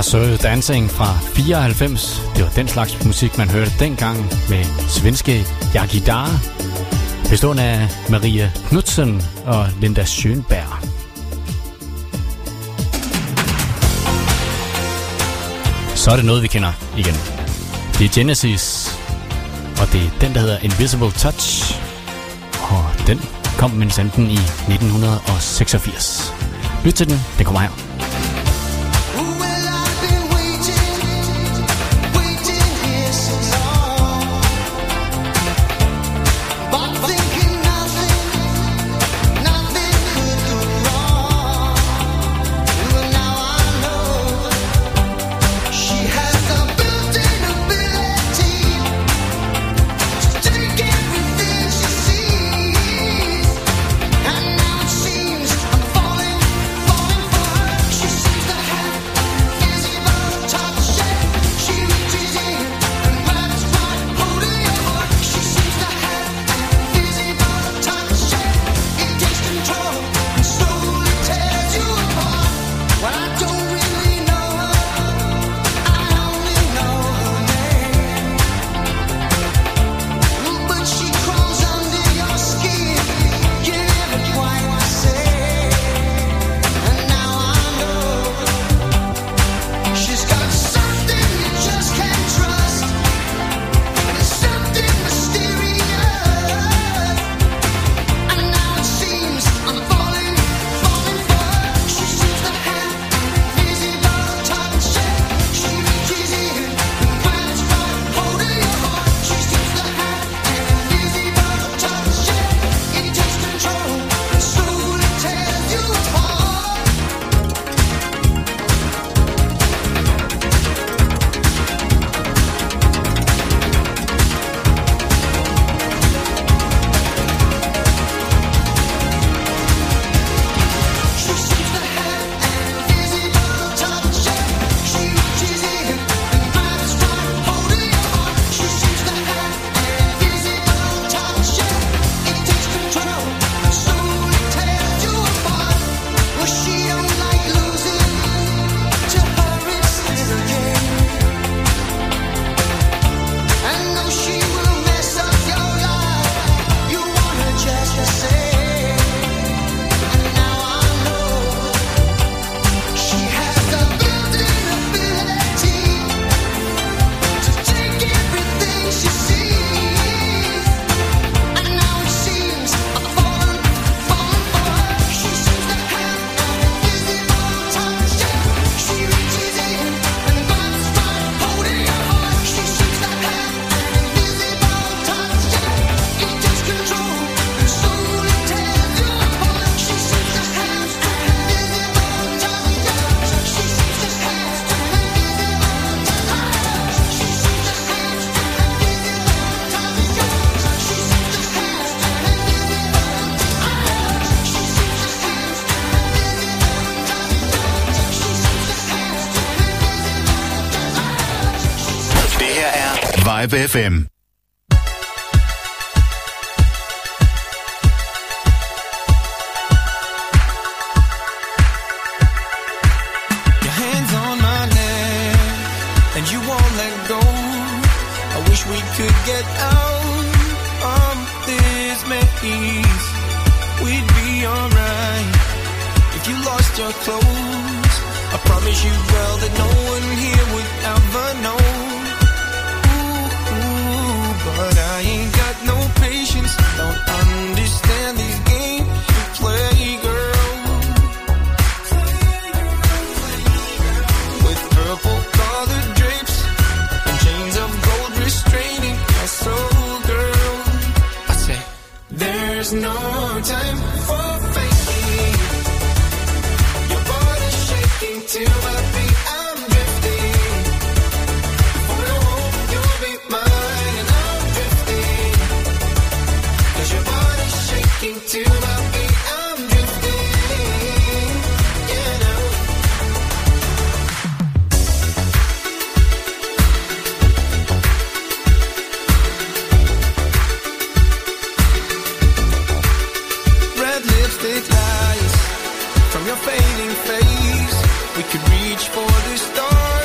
Marseille Dancing fra fireoghalvfems. Det var den slags musik, man hørte dengang med svenske Jagidar, bestående af Maria Knudsen og Linda Schönberg. Så er det noget, vi kender igen. Det er Genesis, og det er den, der hedder Invisible Touch, og den kom med enten i nitten seksogfirs. Lyt til den, den kommer her. Vibe F M. From your fading face, we could reach for the stars.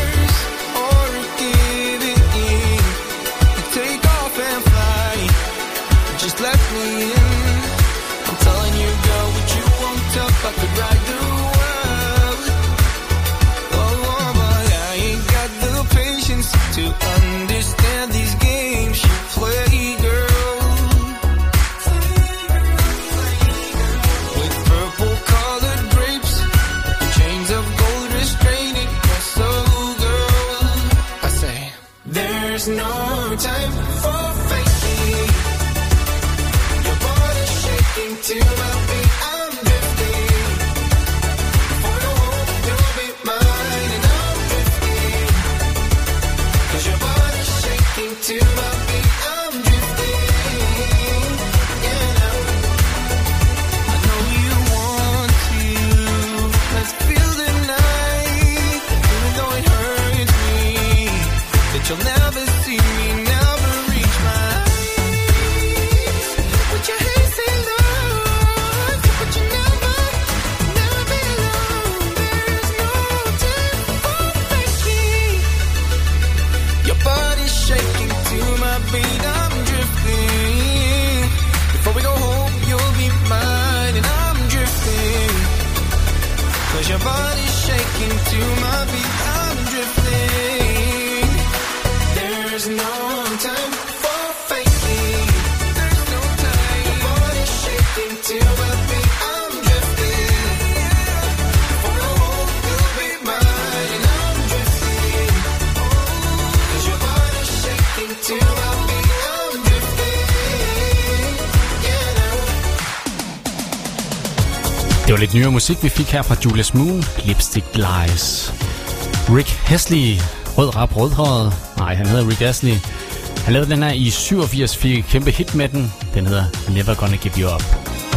There's no time for faking. Your body's shaking to my beat. I'm drifting. Before you hope you'll be mine, and I'm drifting. 'Cause your body's shaking to my beat. I'm drifting. Yeah. I know you want to. Let's feel the night, even though it hurts me. That you'll never see me, never reach my eyes. Put your hands in love, but you never, never be alone. There's no time for faking. Your body's shaking to my beat. I'm drifting. Before we go home, you'll be mine, and I'm drifting. 'Cause your body's shaking to my beat. I'm drifting. There's no time for faking. There's no time. Your body's shaking to my beat. I'm drifting. Before I hope you'll be mine, and I'm drifting. 'Cause your body's shaking to my beat. I'm drifting. Yeah. Det var lidt nyere musik, vi fik her fra Julius Moon, Lipstick Lies. Rick Astley, rød rap, rødhåret. Nej, han hedder Rick Astley. Han lavede den her i syvogfirs, fik et kæmpe hit med den. Den hedder Never Gonna Give You Up.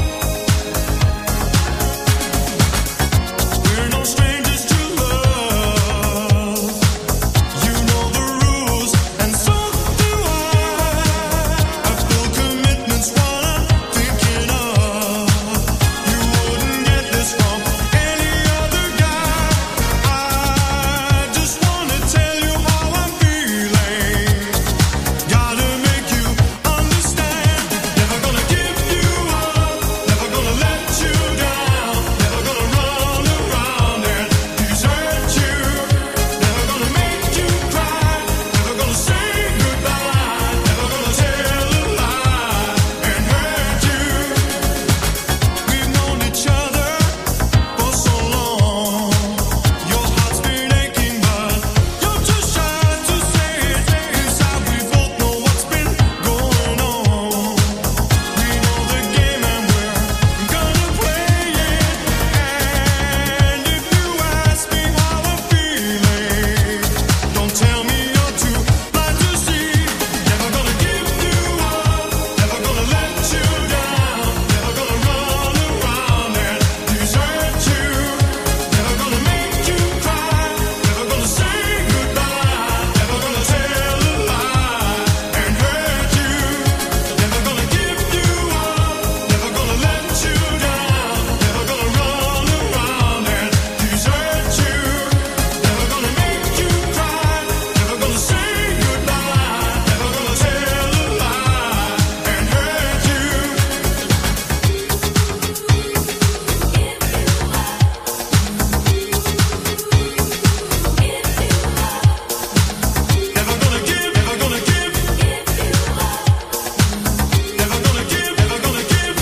We're no strangers to love. You know the rules, and so do I. I've built commitments, what I'm thinking of. You wouldn't get this from any other guy. I just wanna tell you how I'm feeling. Gotta make you understand. Never gonna give you up. Never gonna let you down. Never gonna run around and desert you. Never gonna make you cry. Never gonna say goodbye. Never gonna tell a lie and hurt you. We've known each other for so long. Your heart's been aching, but you're too shy to say it. Inside we both know what's been going on. We know the game and we're gonna play it. And if you ask me how I'm feeling, don't tell me you're too blind to see. Never gonna give you up. Never gonna let you down. Never gonna run around and desert you. Never gonna make you cry. Never gonna say goodbye. Never gonna tell a lie and hurt you. Never gonna give you up. Never gonna let you down. Never gonna run around and desert you. Never gonna make you cry. Never gonna say goodbye. Never gonna tell a lie and hurt you. Never gonna give, never gonna give. Never gonna give, never gonna give.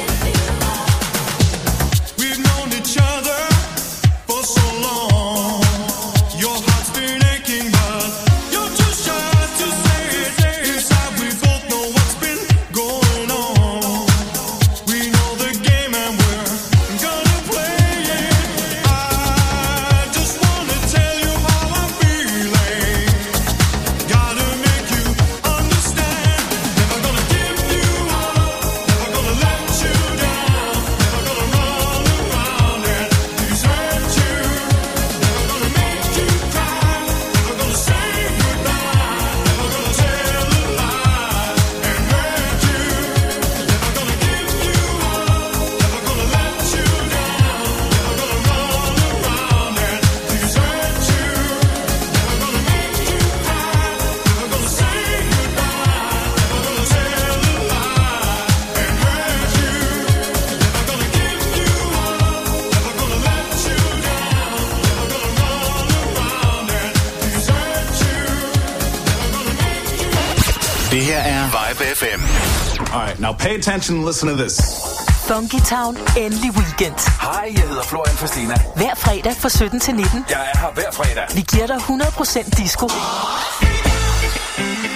We've known each other for so long. Your heart's been aching, but you're too shy to say it. Inside we both know what's been going on. We know the game and we're gonna play it. I just wanna tell you how I'm feeling. Gotta make you understand. Never gonna give you up. Never gonna let you down. Never gonna run around and desert you. Never gonna make you cry. Never gonna say goodbye. Never gonna tell a lie and hurt you. Never gonna give you up. Never gonna let you down. Never gonna run around and desert you. Never gonna make you cry. Never gonna say goodbye. Never gonna tell a lie and hurt you. Never gonna give you up. Never gonna let you down. Never gonna run around and desert you. Never gonna make you. Det her er Vibe F M. Alright, now pay attention and listen to this. Funky Town, endelig weekend. Hej, jeg hedder Florian Fastina. Hver fredag fra sytten til nitten. Jeg er her hver fredag. Vi giver dig hundrede procent disco.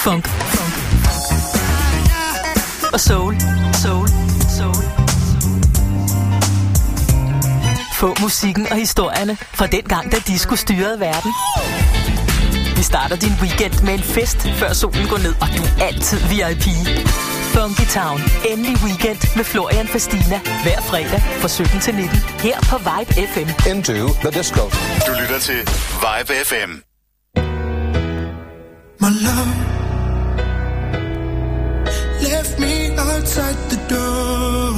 funk, funk og soul, soul, soul. Få musikken og historierne fra den gang, da disco styrede verden. Vi starter din weekend med en fest, før solen går ned, og du er altid V I P. Funky Town. Endelig weekend med Florian Fastina. Hver fredag fra sytten til nitten. Her på Vibe F M. Into the disco. Du lytter til Vibe F M. My love left me outside the door.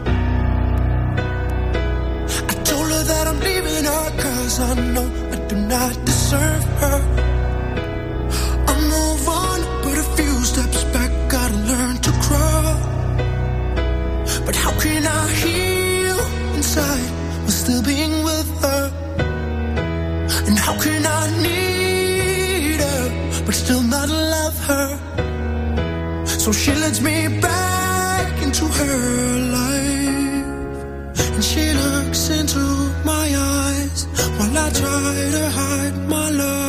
I told her that I'm leaving her cause I know I do not deserve her. I'll move on, but a few steps back, gotta learn to crawl. But how can I heal inside while still being with her? And how can I need her but still not love her? So she lets me back into her life, and she looks into my eyes while I try to hide my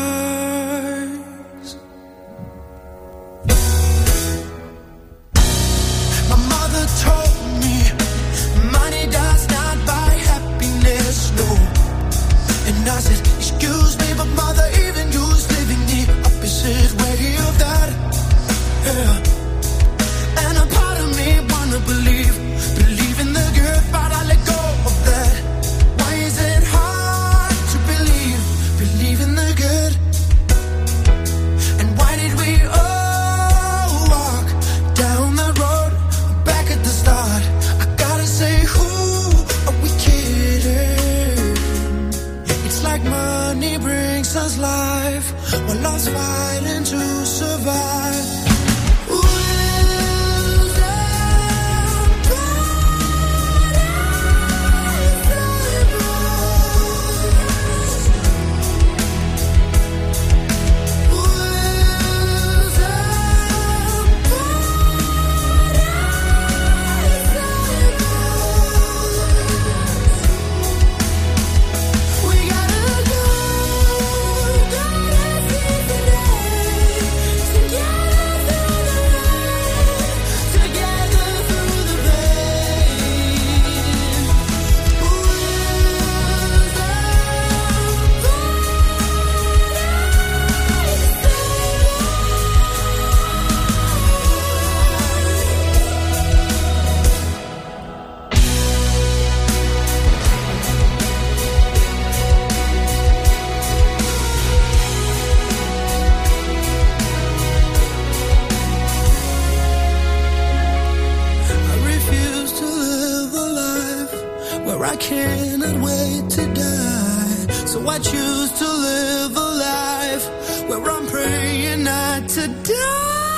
lies. My mother told me money does not buy happiness, no. And I said, excuse me, but mother, even you's living the opposite way of that. Yeah. And a part of me wanna believe, believe in the good, but I let go of that. Why is it hard to believe, believe in the good? And why did we all walk down that road back at the start? I gotta say, who are we kidding? It's like money brings us life, while love's fighting to survive. I cannot wait to die, so I choose to live a life where I'm praying not to die.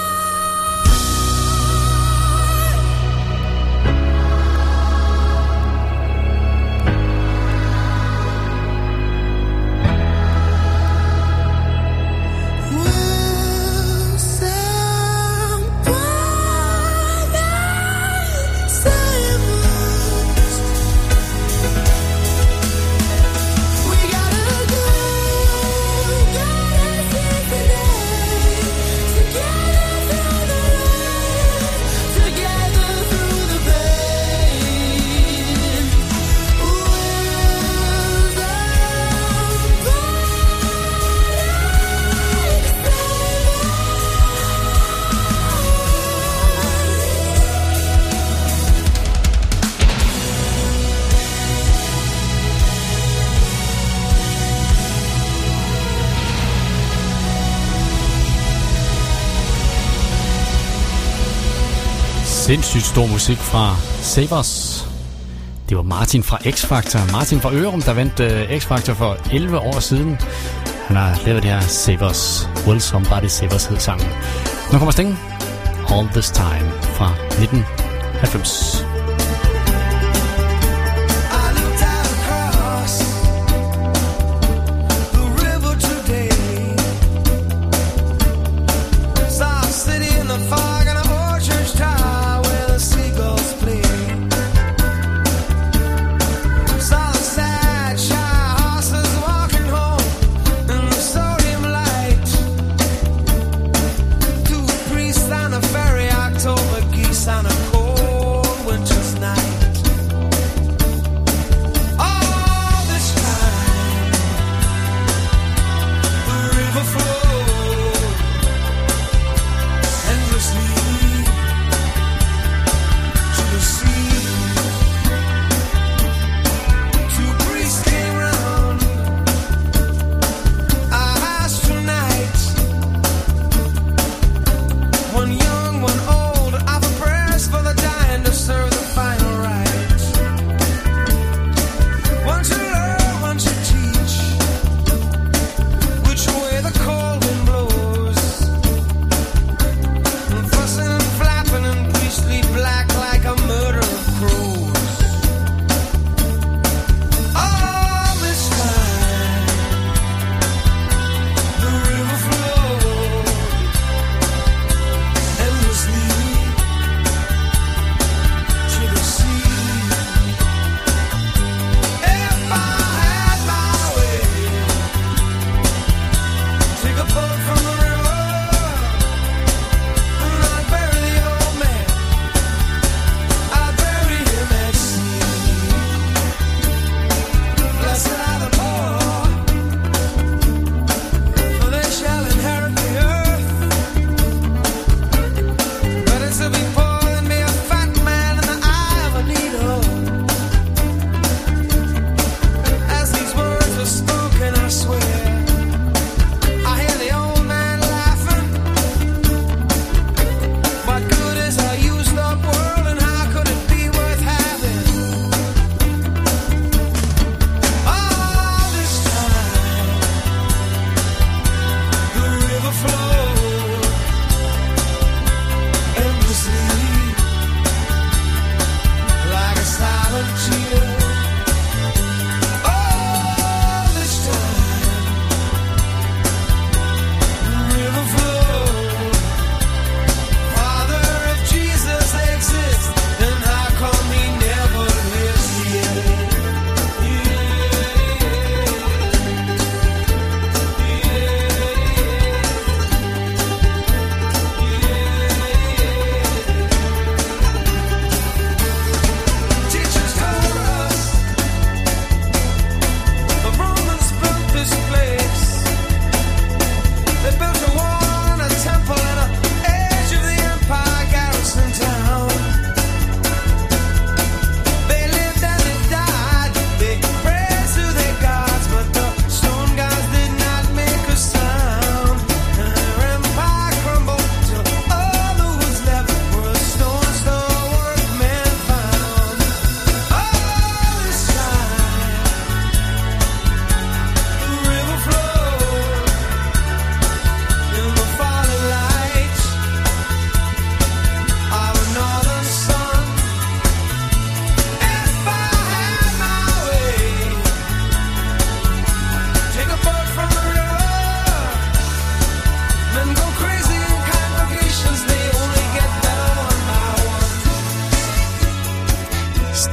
Sindssygt stor musik fra Save Us. Det var Martin fra X-Factor. Martin fra Ørum, der vandt uh, X-Factor for elleve år siden. Han har lavet det her Save Us. Will Somebody Save Us hed sangen. Nu kommer Sting. All This Time fra nitten halvfems. Too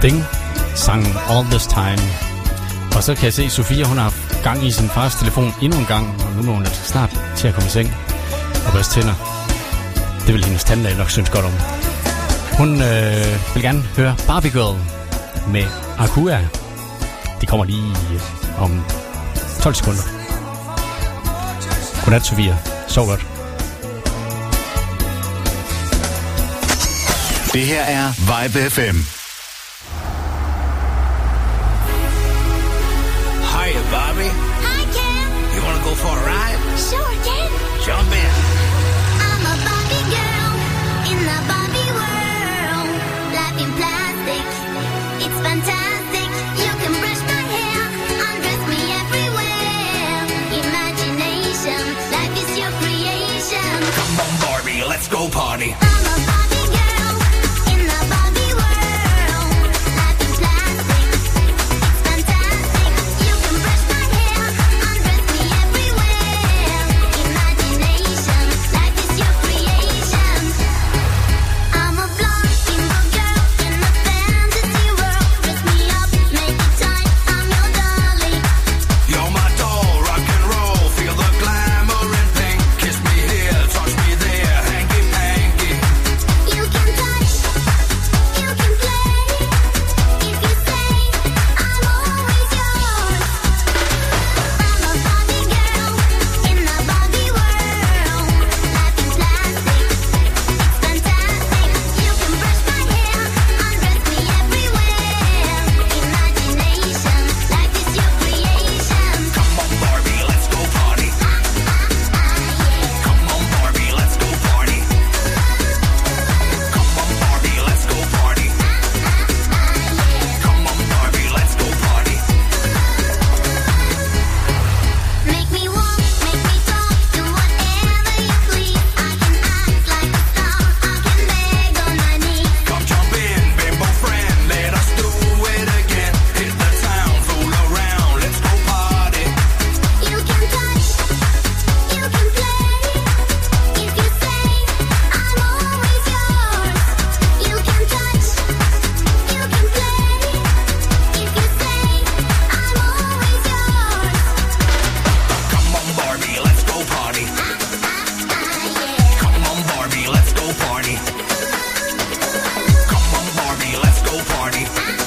Sting sang All This Time. Og så kan jeg se, at Sofia, hun har haft gang i sin fars telefon endnu en gang, og nu må hun snart til at komme i seng og børste tænder. Det vil hendes tandlæge nok synes godt om. Hun øh, vil gerne høre Barbie Girl med Aqua. Det kommer lige om tolv sekunder. Godnat, Sofia. Sov godt. Det her er Vibe F M. Hiya, Bobby. Hi, Ken. You want to go for a ride? Sure, Ken. Jump in. I'm a Barbie girl in the Barbie world. Life in plastic, it's fantastic. You can brush my hair, undress me everywhere. Imagination, life is your creation. Come on, Barbie, let's go party. I'm a Barbie girl in the Barbie world. Life in plastic, it's fantastic. You can brush my hair, undress me everywhere. Imagination, life is your creation. I'm a blonde single girl in a fantasy world. Dress me up, make it tight, I'm your darling. You're my doll, rock and roll. Feel the glamour and pink. Kiss me here, touch me there. Hanky panky. You can touch, you can play. If you say I'm always yours. I'm a Barbie girl in the Barbie world. Life in plastic, it's fantastic. You can brush my hair, undress me everywhere. Imagination, life is your creation. Come on, Barbie, let's go party. Come on, Barbie, let's go party. Come on, Barbie, let's go party. Come on, Barbie, let's go party. Make me walk, make me talk, do whatever you please. I can act like a star, I can beg on my knees. Come jump in, bimbo friend. Let us do it again. Hit the town, fool around. Let's go party. You can touch, you can play. If you say I'm always yours. You can touch, you can play. If you say I'm always yours. Come on, Barbie, let's go party. Come on, Barbie, let's go party. Come on, Barbie, let's go party.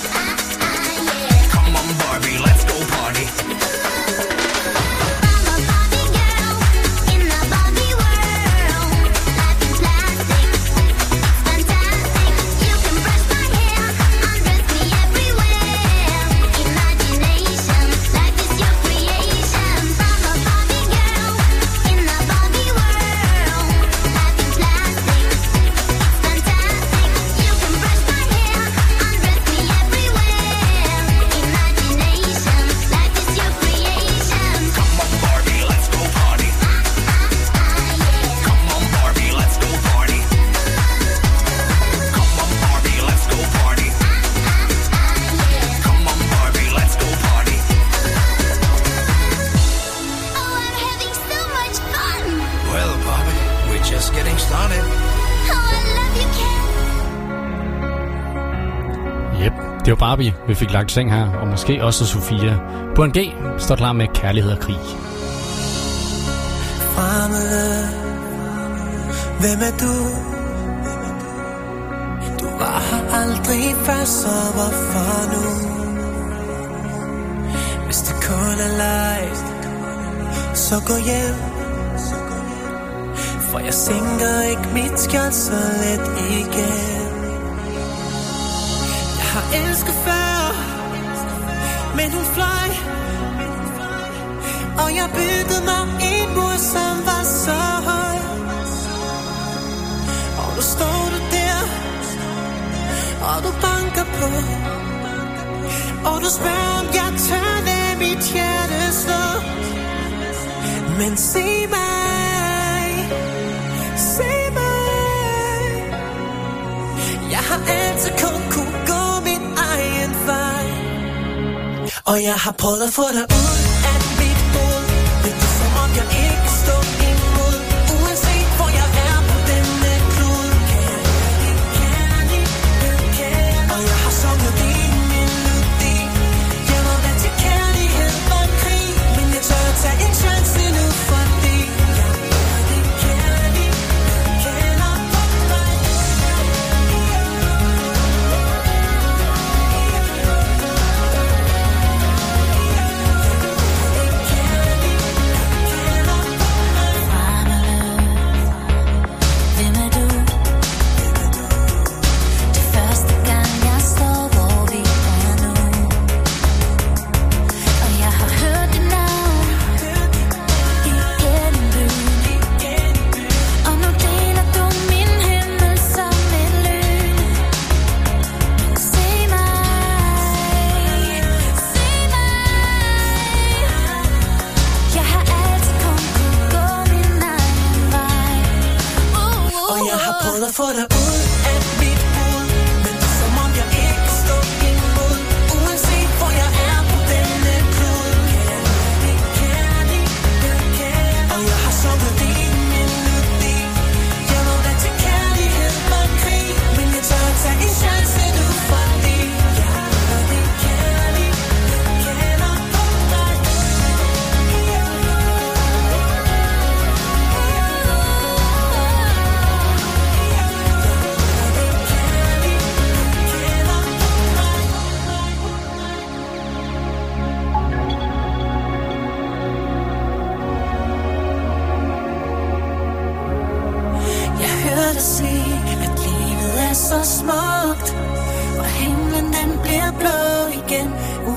Come on, Barbie, let's go party. I'm a Barbie girl in the Barbie world. Life in plastic, it's fantastic. You can brush my hair, undress me everywhere. Imagination, life is your creation. I'm a Barbie girl in the Barbie world. Life in plastic, it's fantastic. You can brush my hair, undress me everywhere. Imagination, life is your creation. Come on, Barbie, let's go party. Come on, Barbie, let's go party. Come on, Barbie, let's go party. Come on, Barbie, let's go party. Oh, I'm having so much fun. Well, Barbie, we're just getting started. Oh, I love you, Ken. Yep, det var Barbie, vi fik lagt i seng her, og måske også Sofia. På en G står klar med Kærlighed og Krig. Fremmede, hvem er du? Du var her aldrig før, så hvorfor nu? Hvis det kun er leg, så gå hjem. For jeg sænker ikke mit skjold så let igen. Jeg har elsket før, men hun fløj. Og jeg byggede mig en mur, som var så høj. Og nu står du der, og du banker på. Og du spørger, om jeg tør lade mit hjerte slå. Men se mig, se mig. Jeg har altid kun kunne gå min egen vej. Og jeg har prøvet at få dig ud af mit hoved. Men det er som om jeg ikke kan stå imod. Uanset hvor jeg er på denne klode. Kærlig, kærlig, kærlig. Og jeg har sunget dine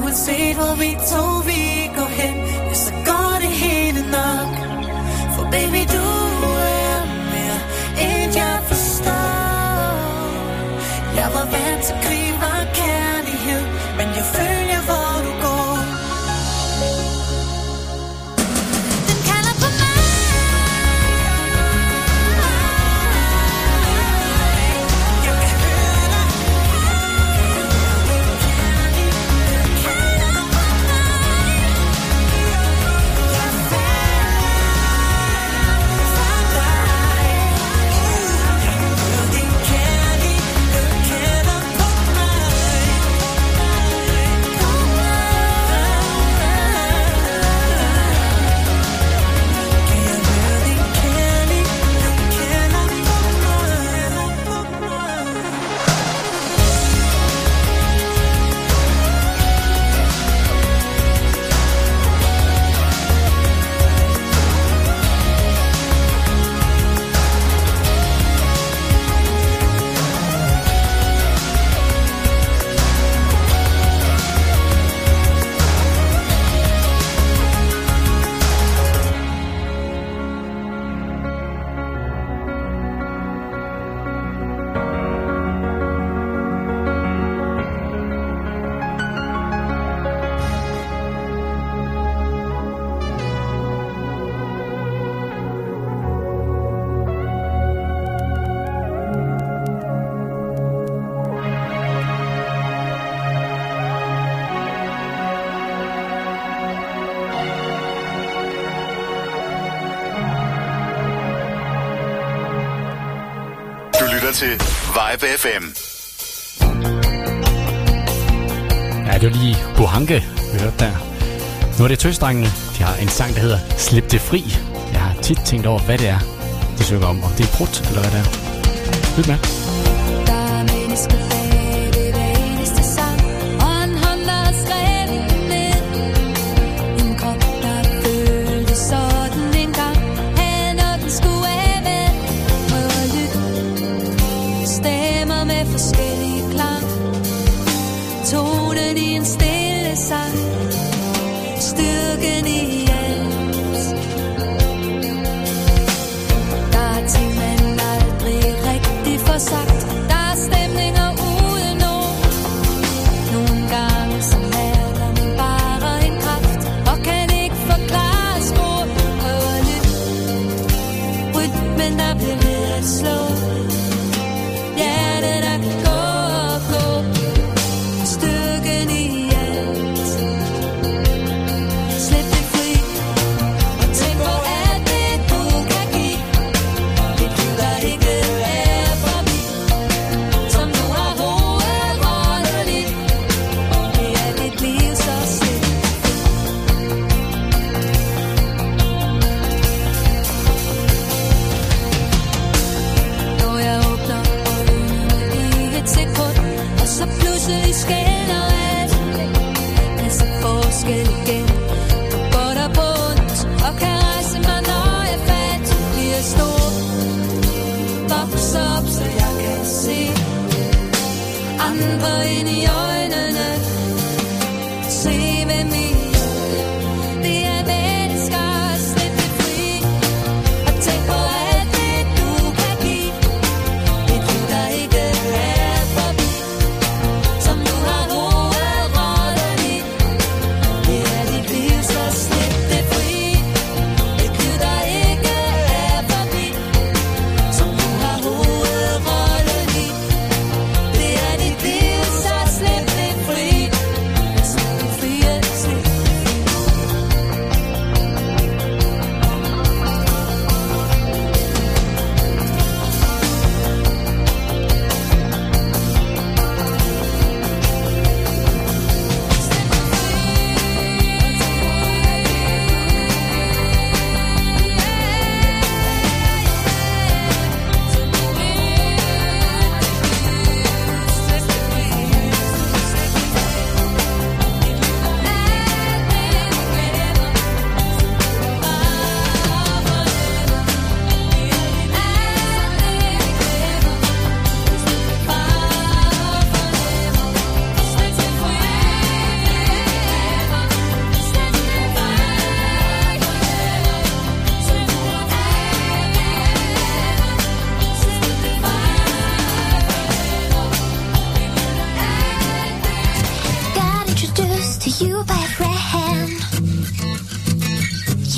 uanset hvor vi to vi går hen, ja, så går det hele nok. For baby, du er mere end jeg forstår. Jeg var vant til krig og kærlighed, men jeg følger hvor du går. Den kalder på mig. Jeg kan høre dig. Den kalder på mig. Jeg falder for dig. Jeg hører din kærlighed kalder på mig. På mig. Kan jeg høre din kærlighed kalder på mig. Du lytter til Vibe F M. Ja, det var lige Buhanke, vi hørte der. Nu er det Tøsdrengene. De har en sang, der hedder Slip det fri. Jeg har tit tænkt over, hvad det er, de synger om. Om det er brudt, eller hvad det er. Lyt med. Der er mennesker bag det hver eneste sang, og en hånd, der har skrevet ned. En krop, der følte sådan en gang, havde noget, den skulle af med. Prøv at lytte. Stemmer med forskellige klang. Tonen i en stille sang. Styrken i alt. Der er ting, man aldrig rigtig får sagt. Der er stemninger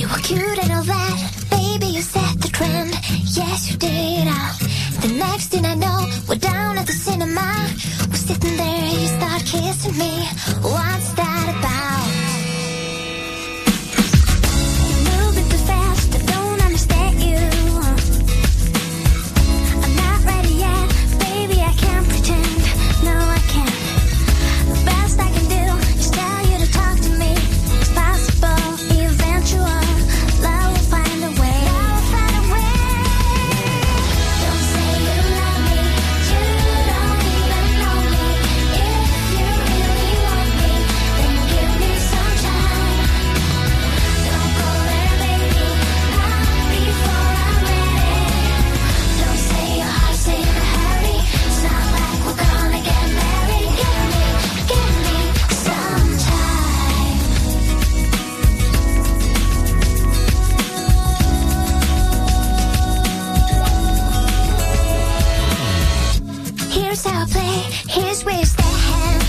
You were cute and all that, baby, you set the trend. Yes, you did. Uh, the next thing I know, we're down at the cinema. We're sitting there, you start kissing me. What's that about? You're moving too fast, I don't understand you. I'm not ready yet, baby, I can't pretend. No, I can't. The best I can do is tell you to talk to me. It's possible, eventual. Love will find a way. Love will find a way. Don't say you love me. You don't even know me. If you really want me, then give me some time. Don't go there, baby. Not before I'm ready. Don't say your heart's in a hurry. It's not like we're gonna get married. Give me, give me some time. Here's how I play, here's where you stand.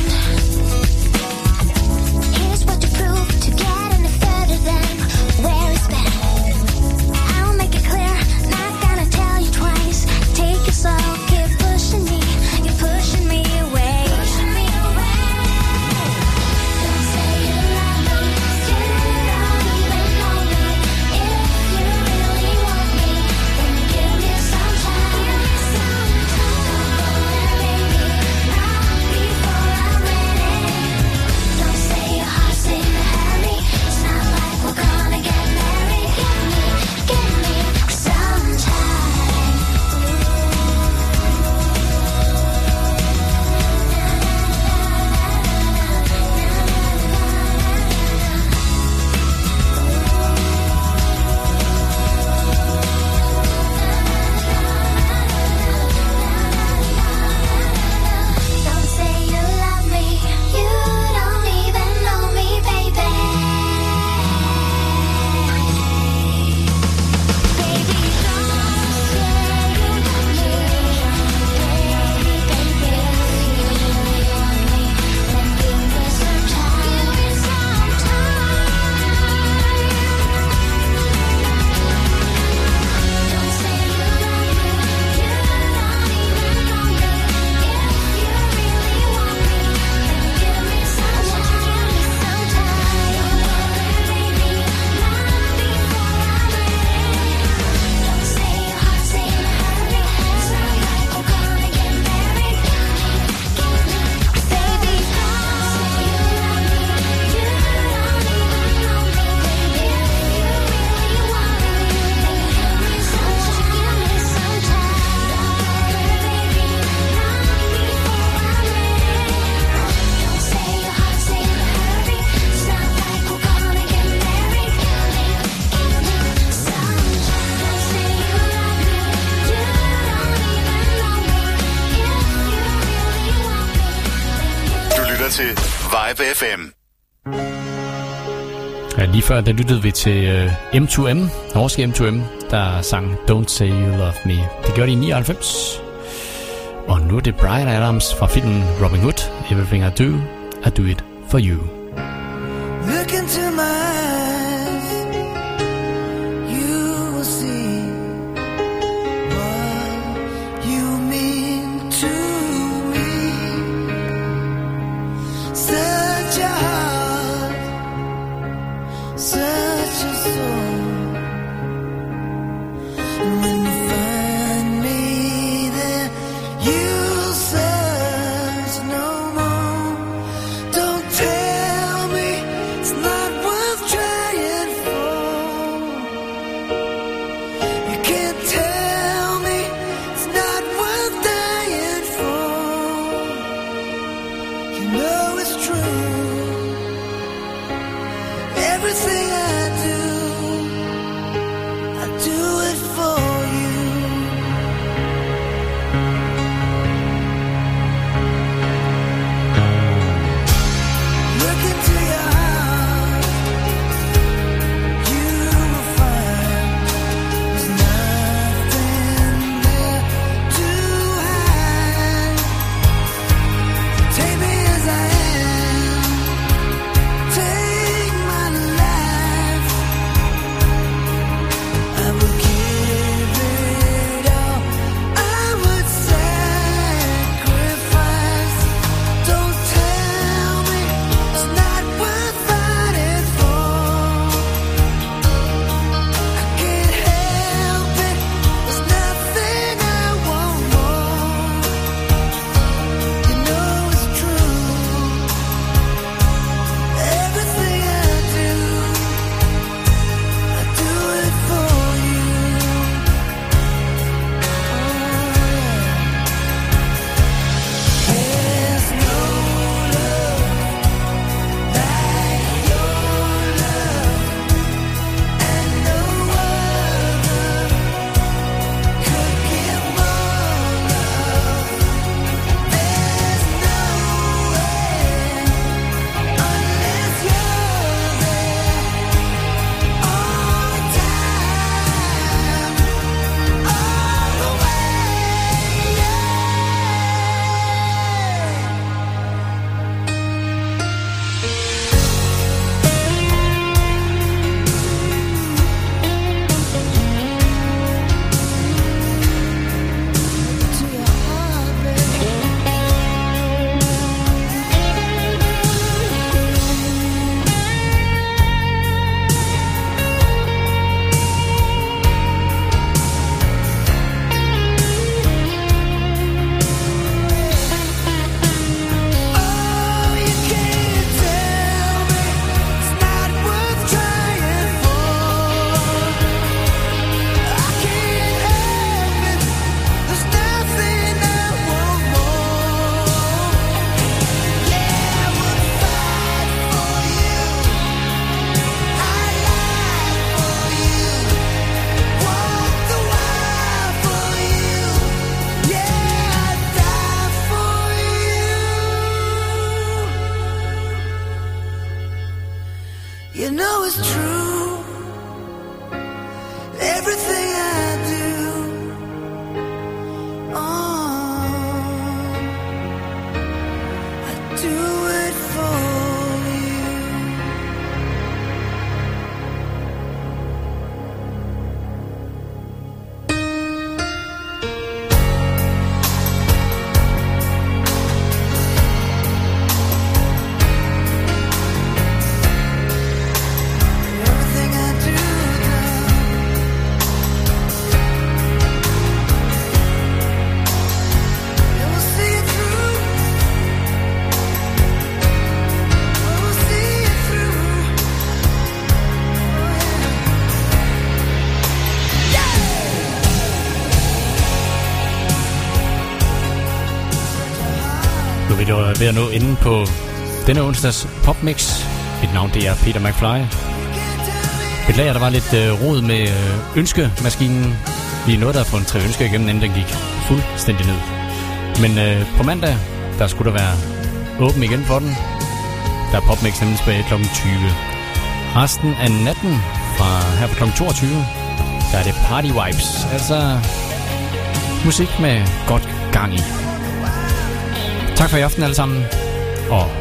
Here's what to prove to get any further than where it's been. I'll make it clear, not gonna tell you twice. Take it slow, keep pushing me, you're pushing me away. Pushing me away. Don't say you love me, you don't even know me. If you really want me, then give me some time. Some time. Don't go there, baby, not before I'm ready. Don't say your heart's in a hurry. It's not like we're gonna get married. Give me, give me some time. Don't say you love me. You don't even know me, baby. Baby, don't say you love me. Baby, baby, if you really want me, then give me some time. Give me some time. Don't say you love me. You don't even know me. If you really want me, then give me some time. Give me some time. Don't go there, baby, not before I'm ready. Don't say your heart's in a hurry. It's not like we're gonna get married. Give me, baby, don't say you love me. You don't even know me. If you really want me, then give me some time. Give me some time. Don't go there, baby, not before I'm ready. Don't say your heart's in a hurry. It's not like we're gonna get married. Give me, give me some time. Don't say you love me. You don't even know me. If you really want me, then give Du lytter til Vibe F M. Ja, lige før, der lyttede vi til uh, M to M, norske M to M, der sang Don't Say You Love Me. Det gjorde de i nioghalvfems. Og nu er det Bryan Adams fra filmen Robin Hood. Everything I Do, I Do It For You. Look into my eyes, you will see what you mean to me. Such a heart, such a soul. And when you find me there, you'll search no more. Don't tell me it's not worth trying. everything I do. Oh, I do it for you. Everything I do, you will see it through. You will see it through. Nu er vi dog ved at nå enden på denne onsdags popmix. Mit navn det er Peter McFly. Beklager, der var lidt øh, rod med øh, ønskemaskinen. Vi nåede der at få en tre ønsker igennem, inden den gik fuldstændig ned. Men øh, på mandag, der skulle der være åben igen for den. Der er popmix nemlig tilbage klokken tyve. Resten af natten fra her fra klokken toogtyve, der er det party vibes. Altså musik med godt gang i. Tak for i aften alle sammen, og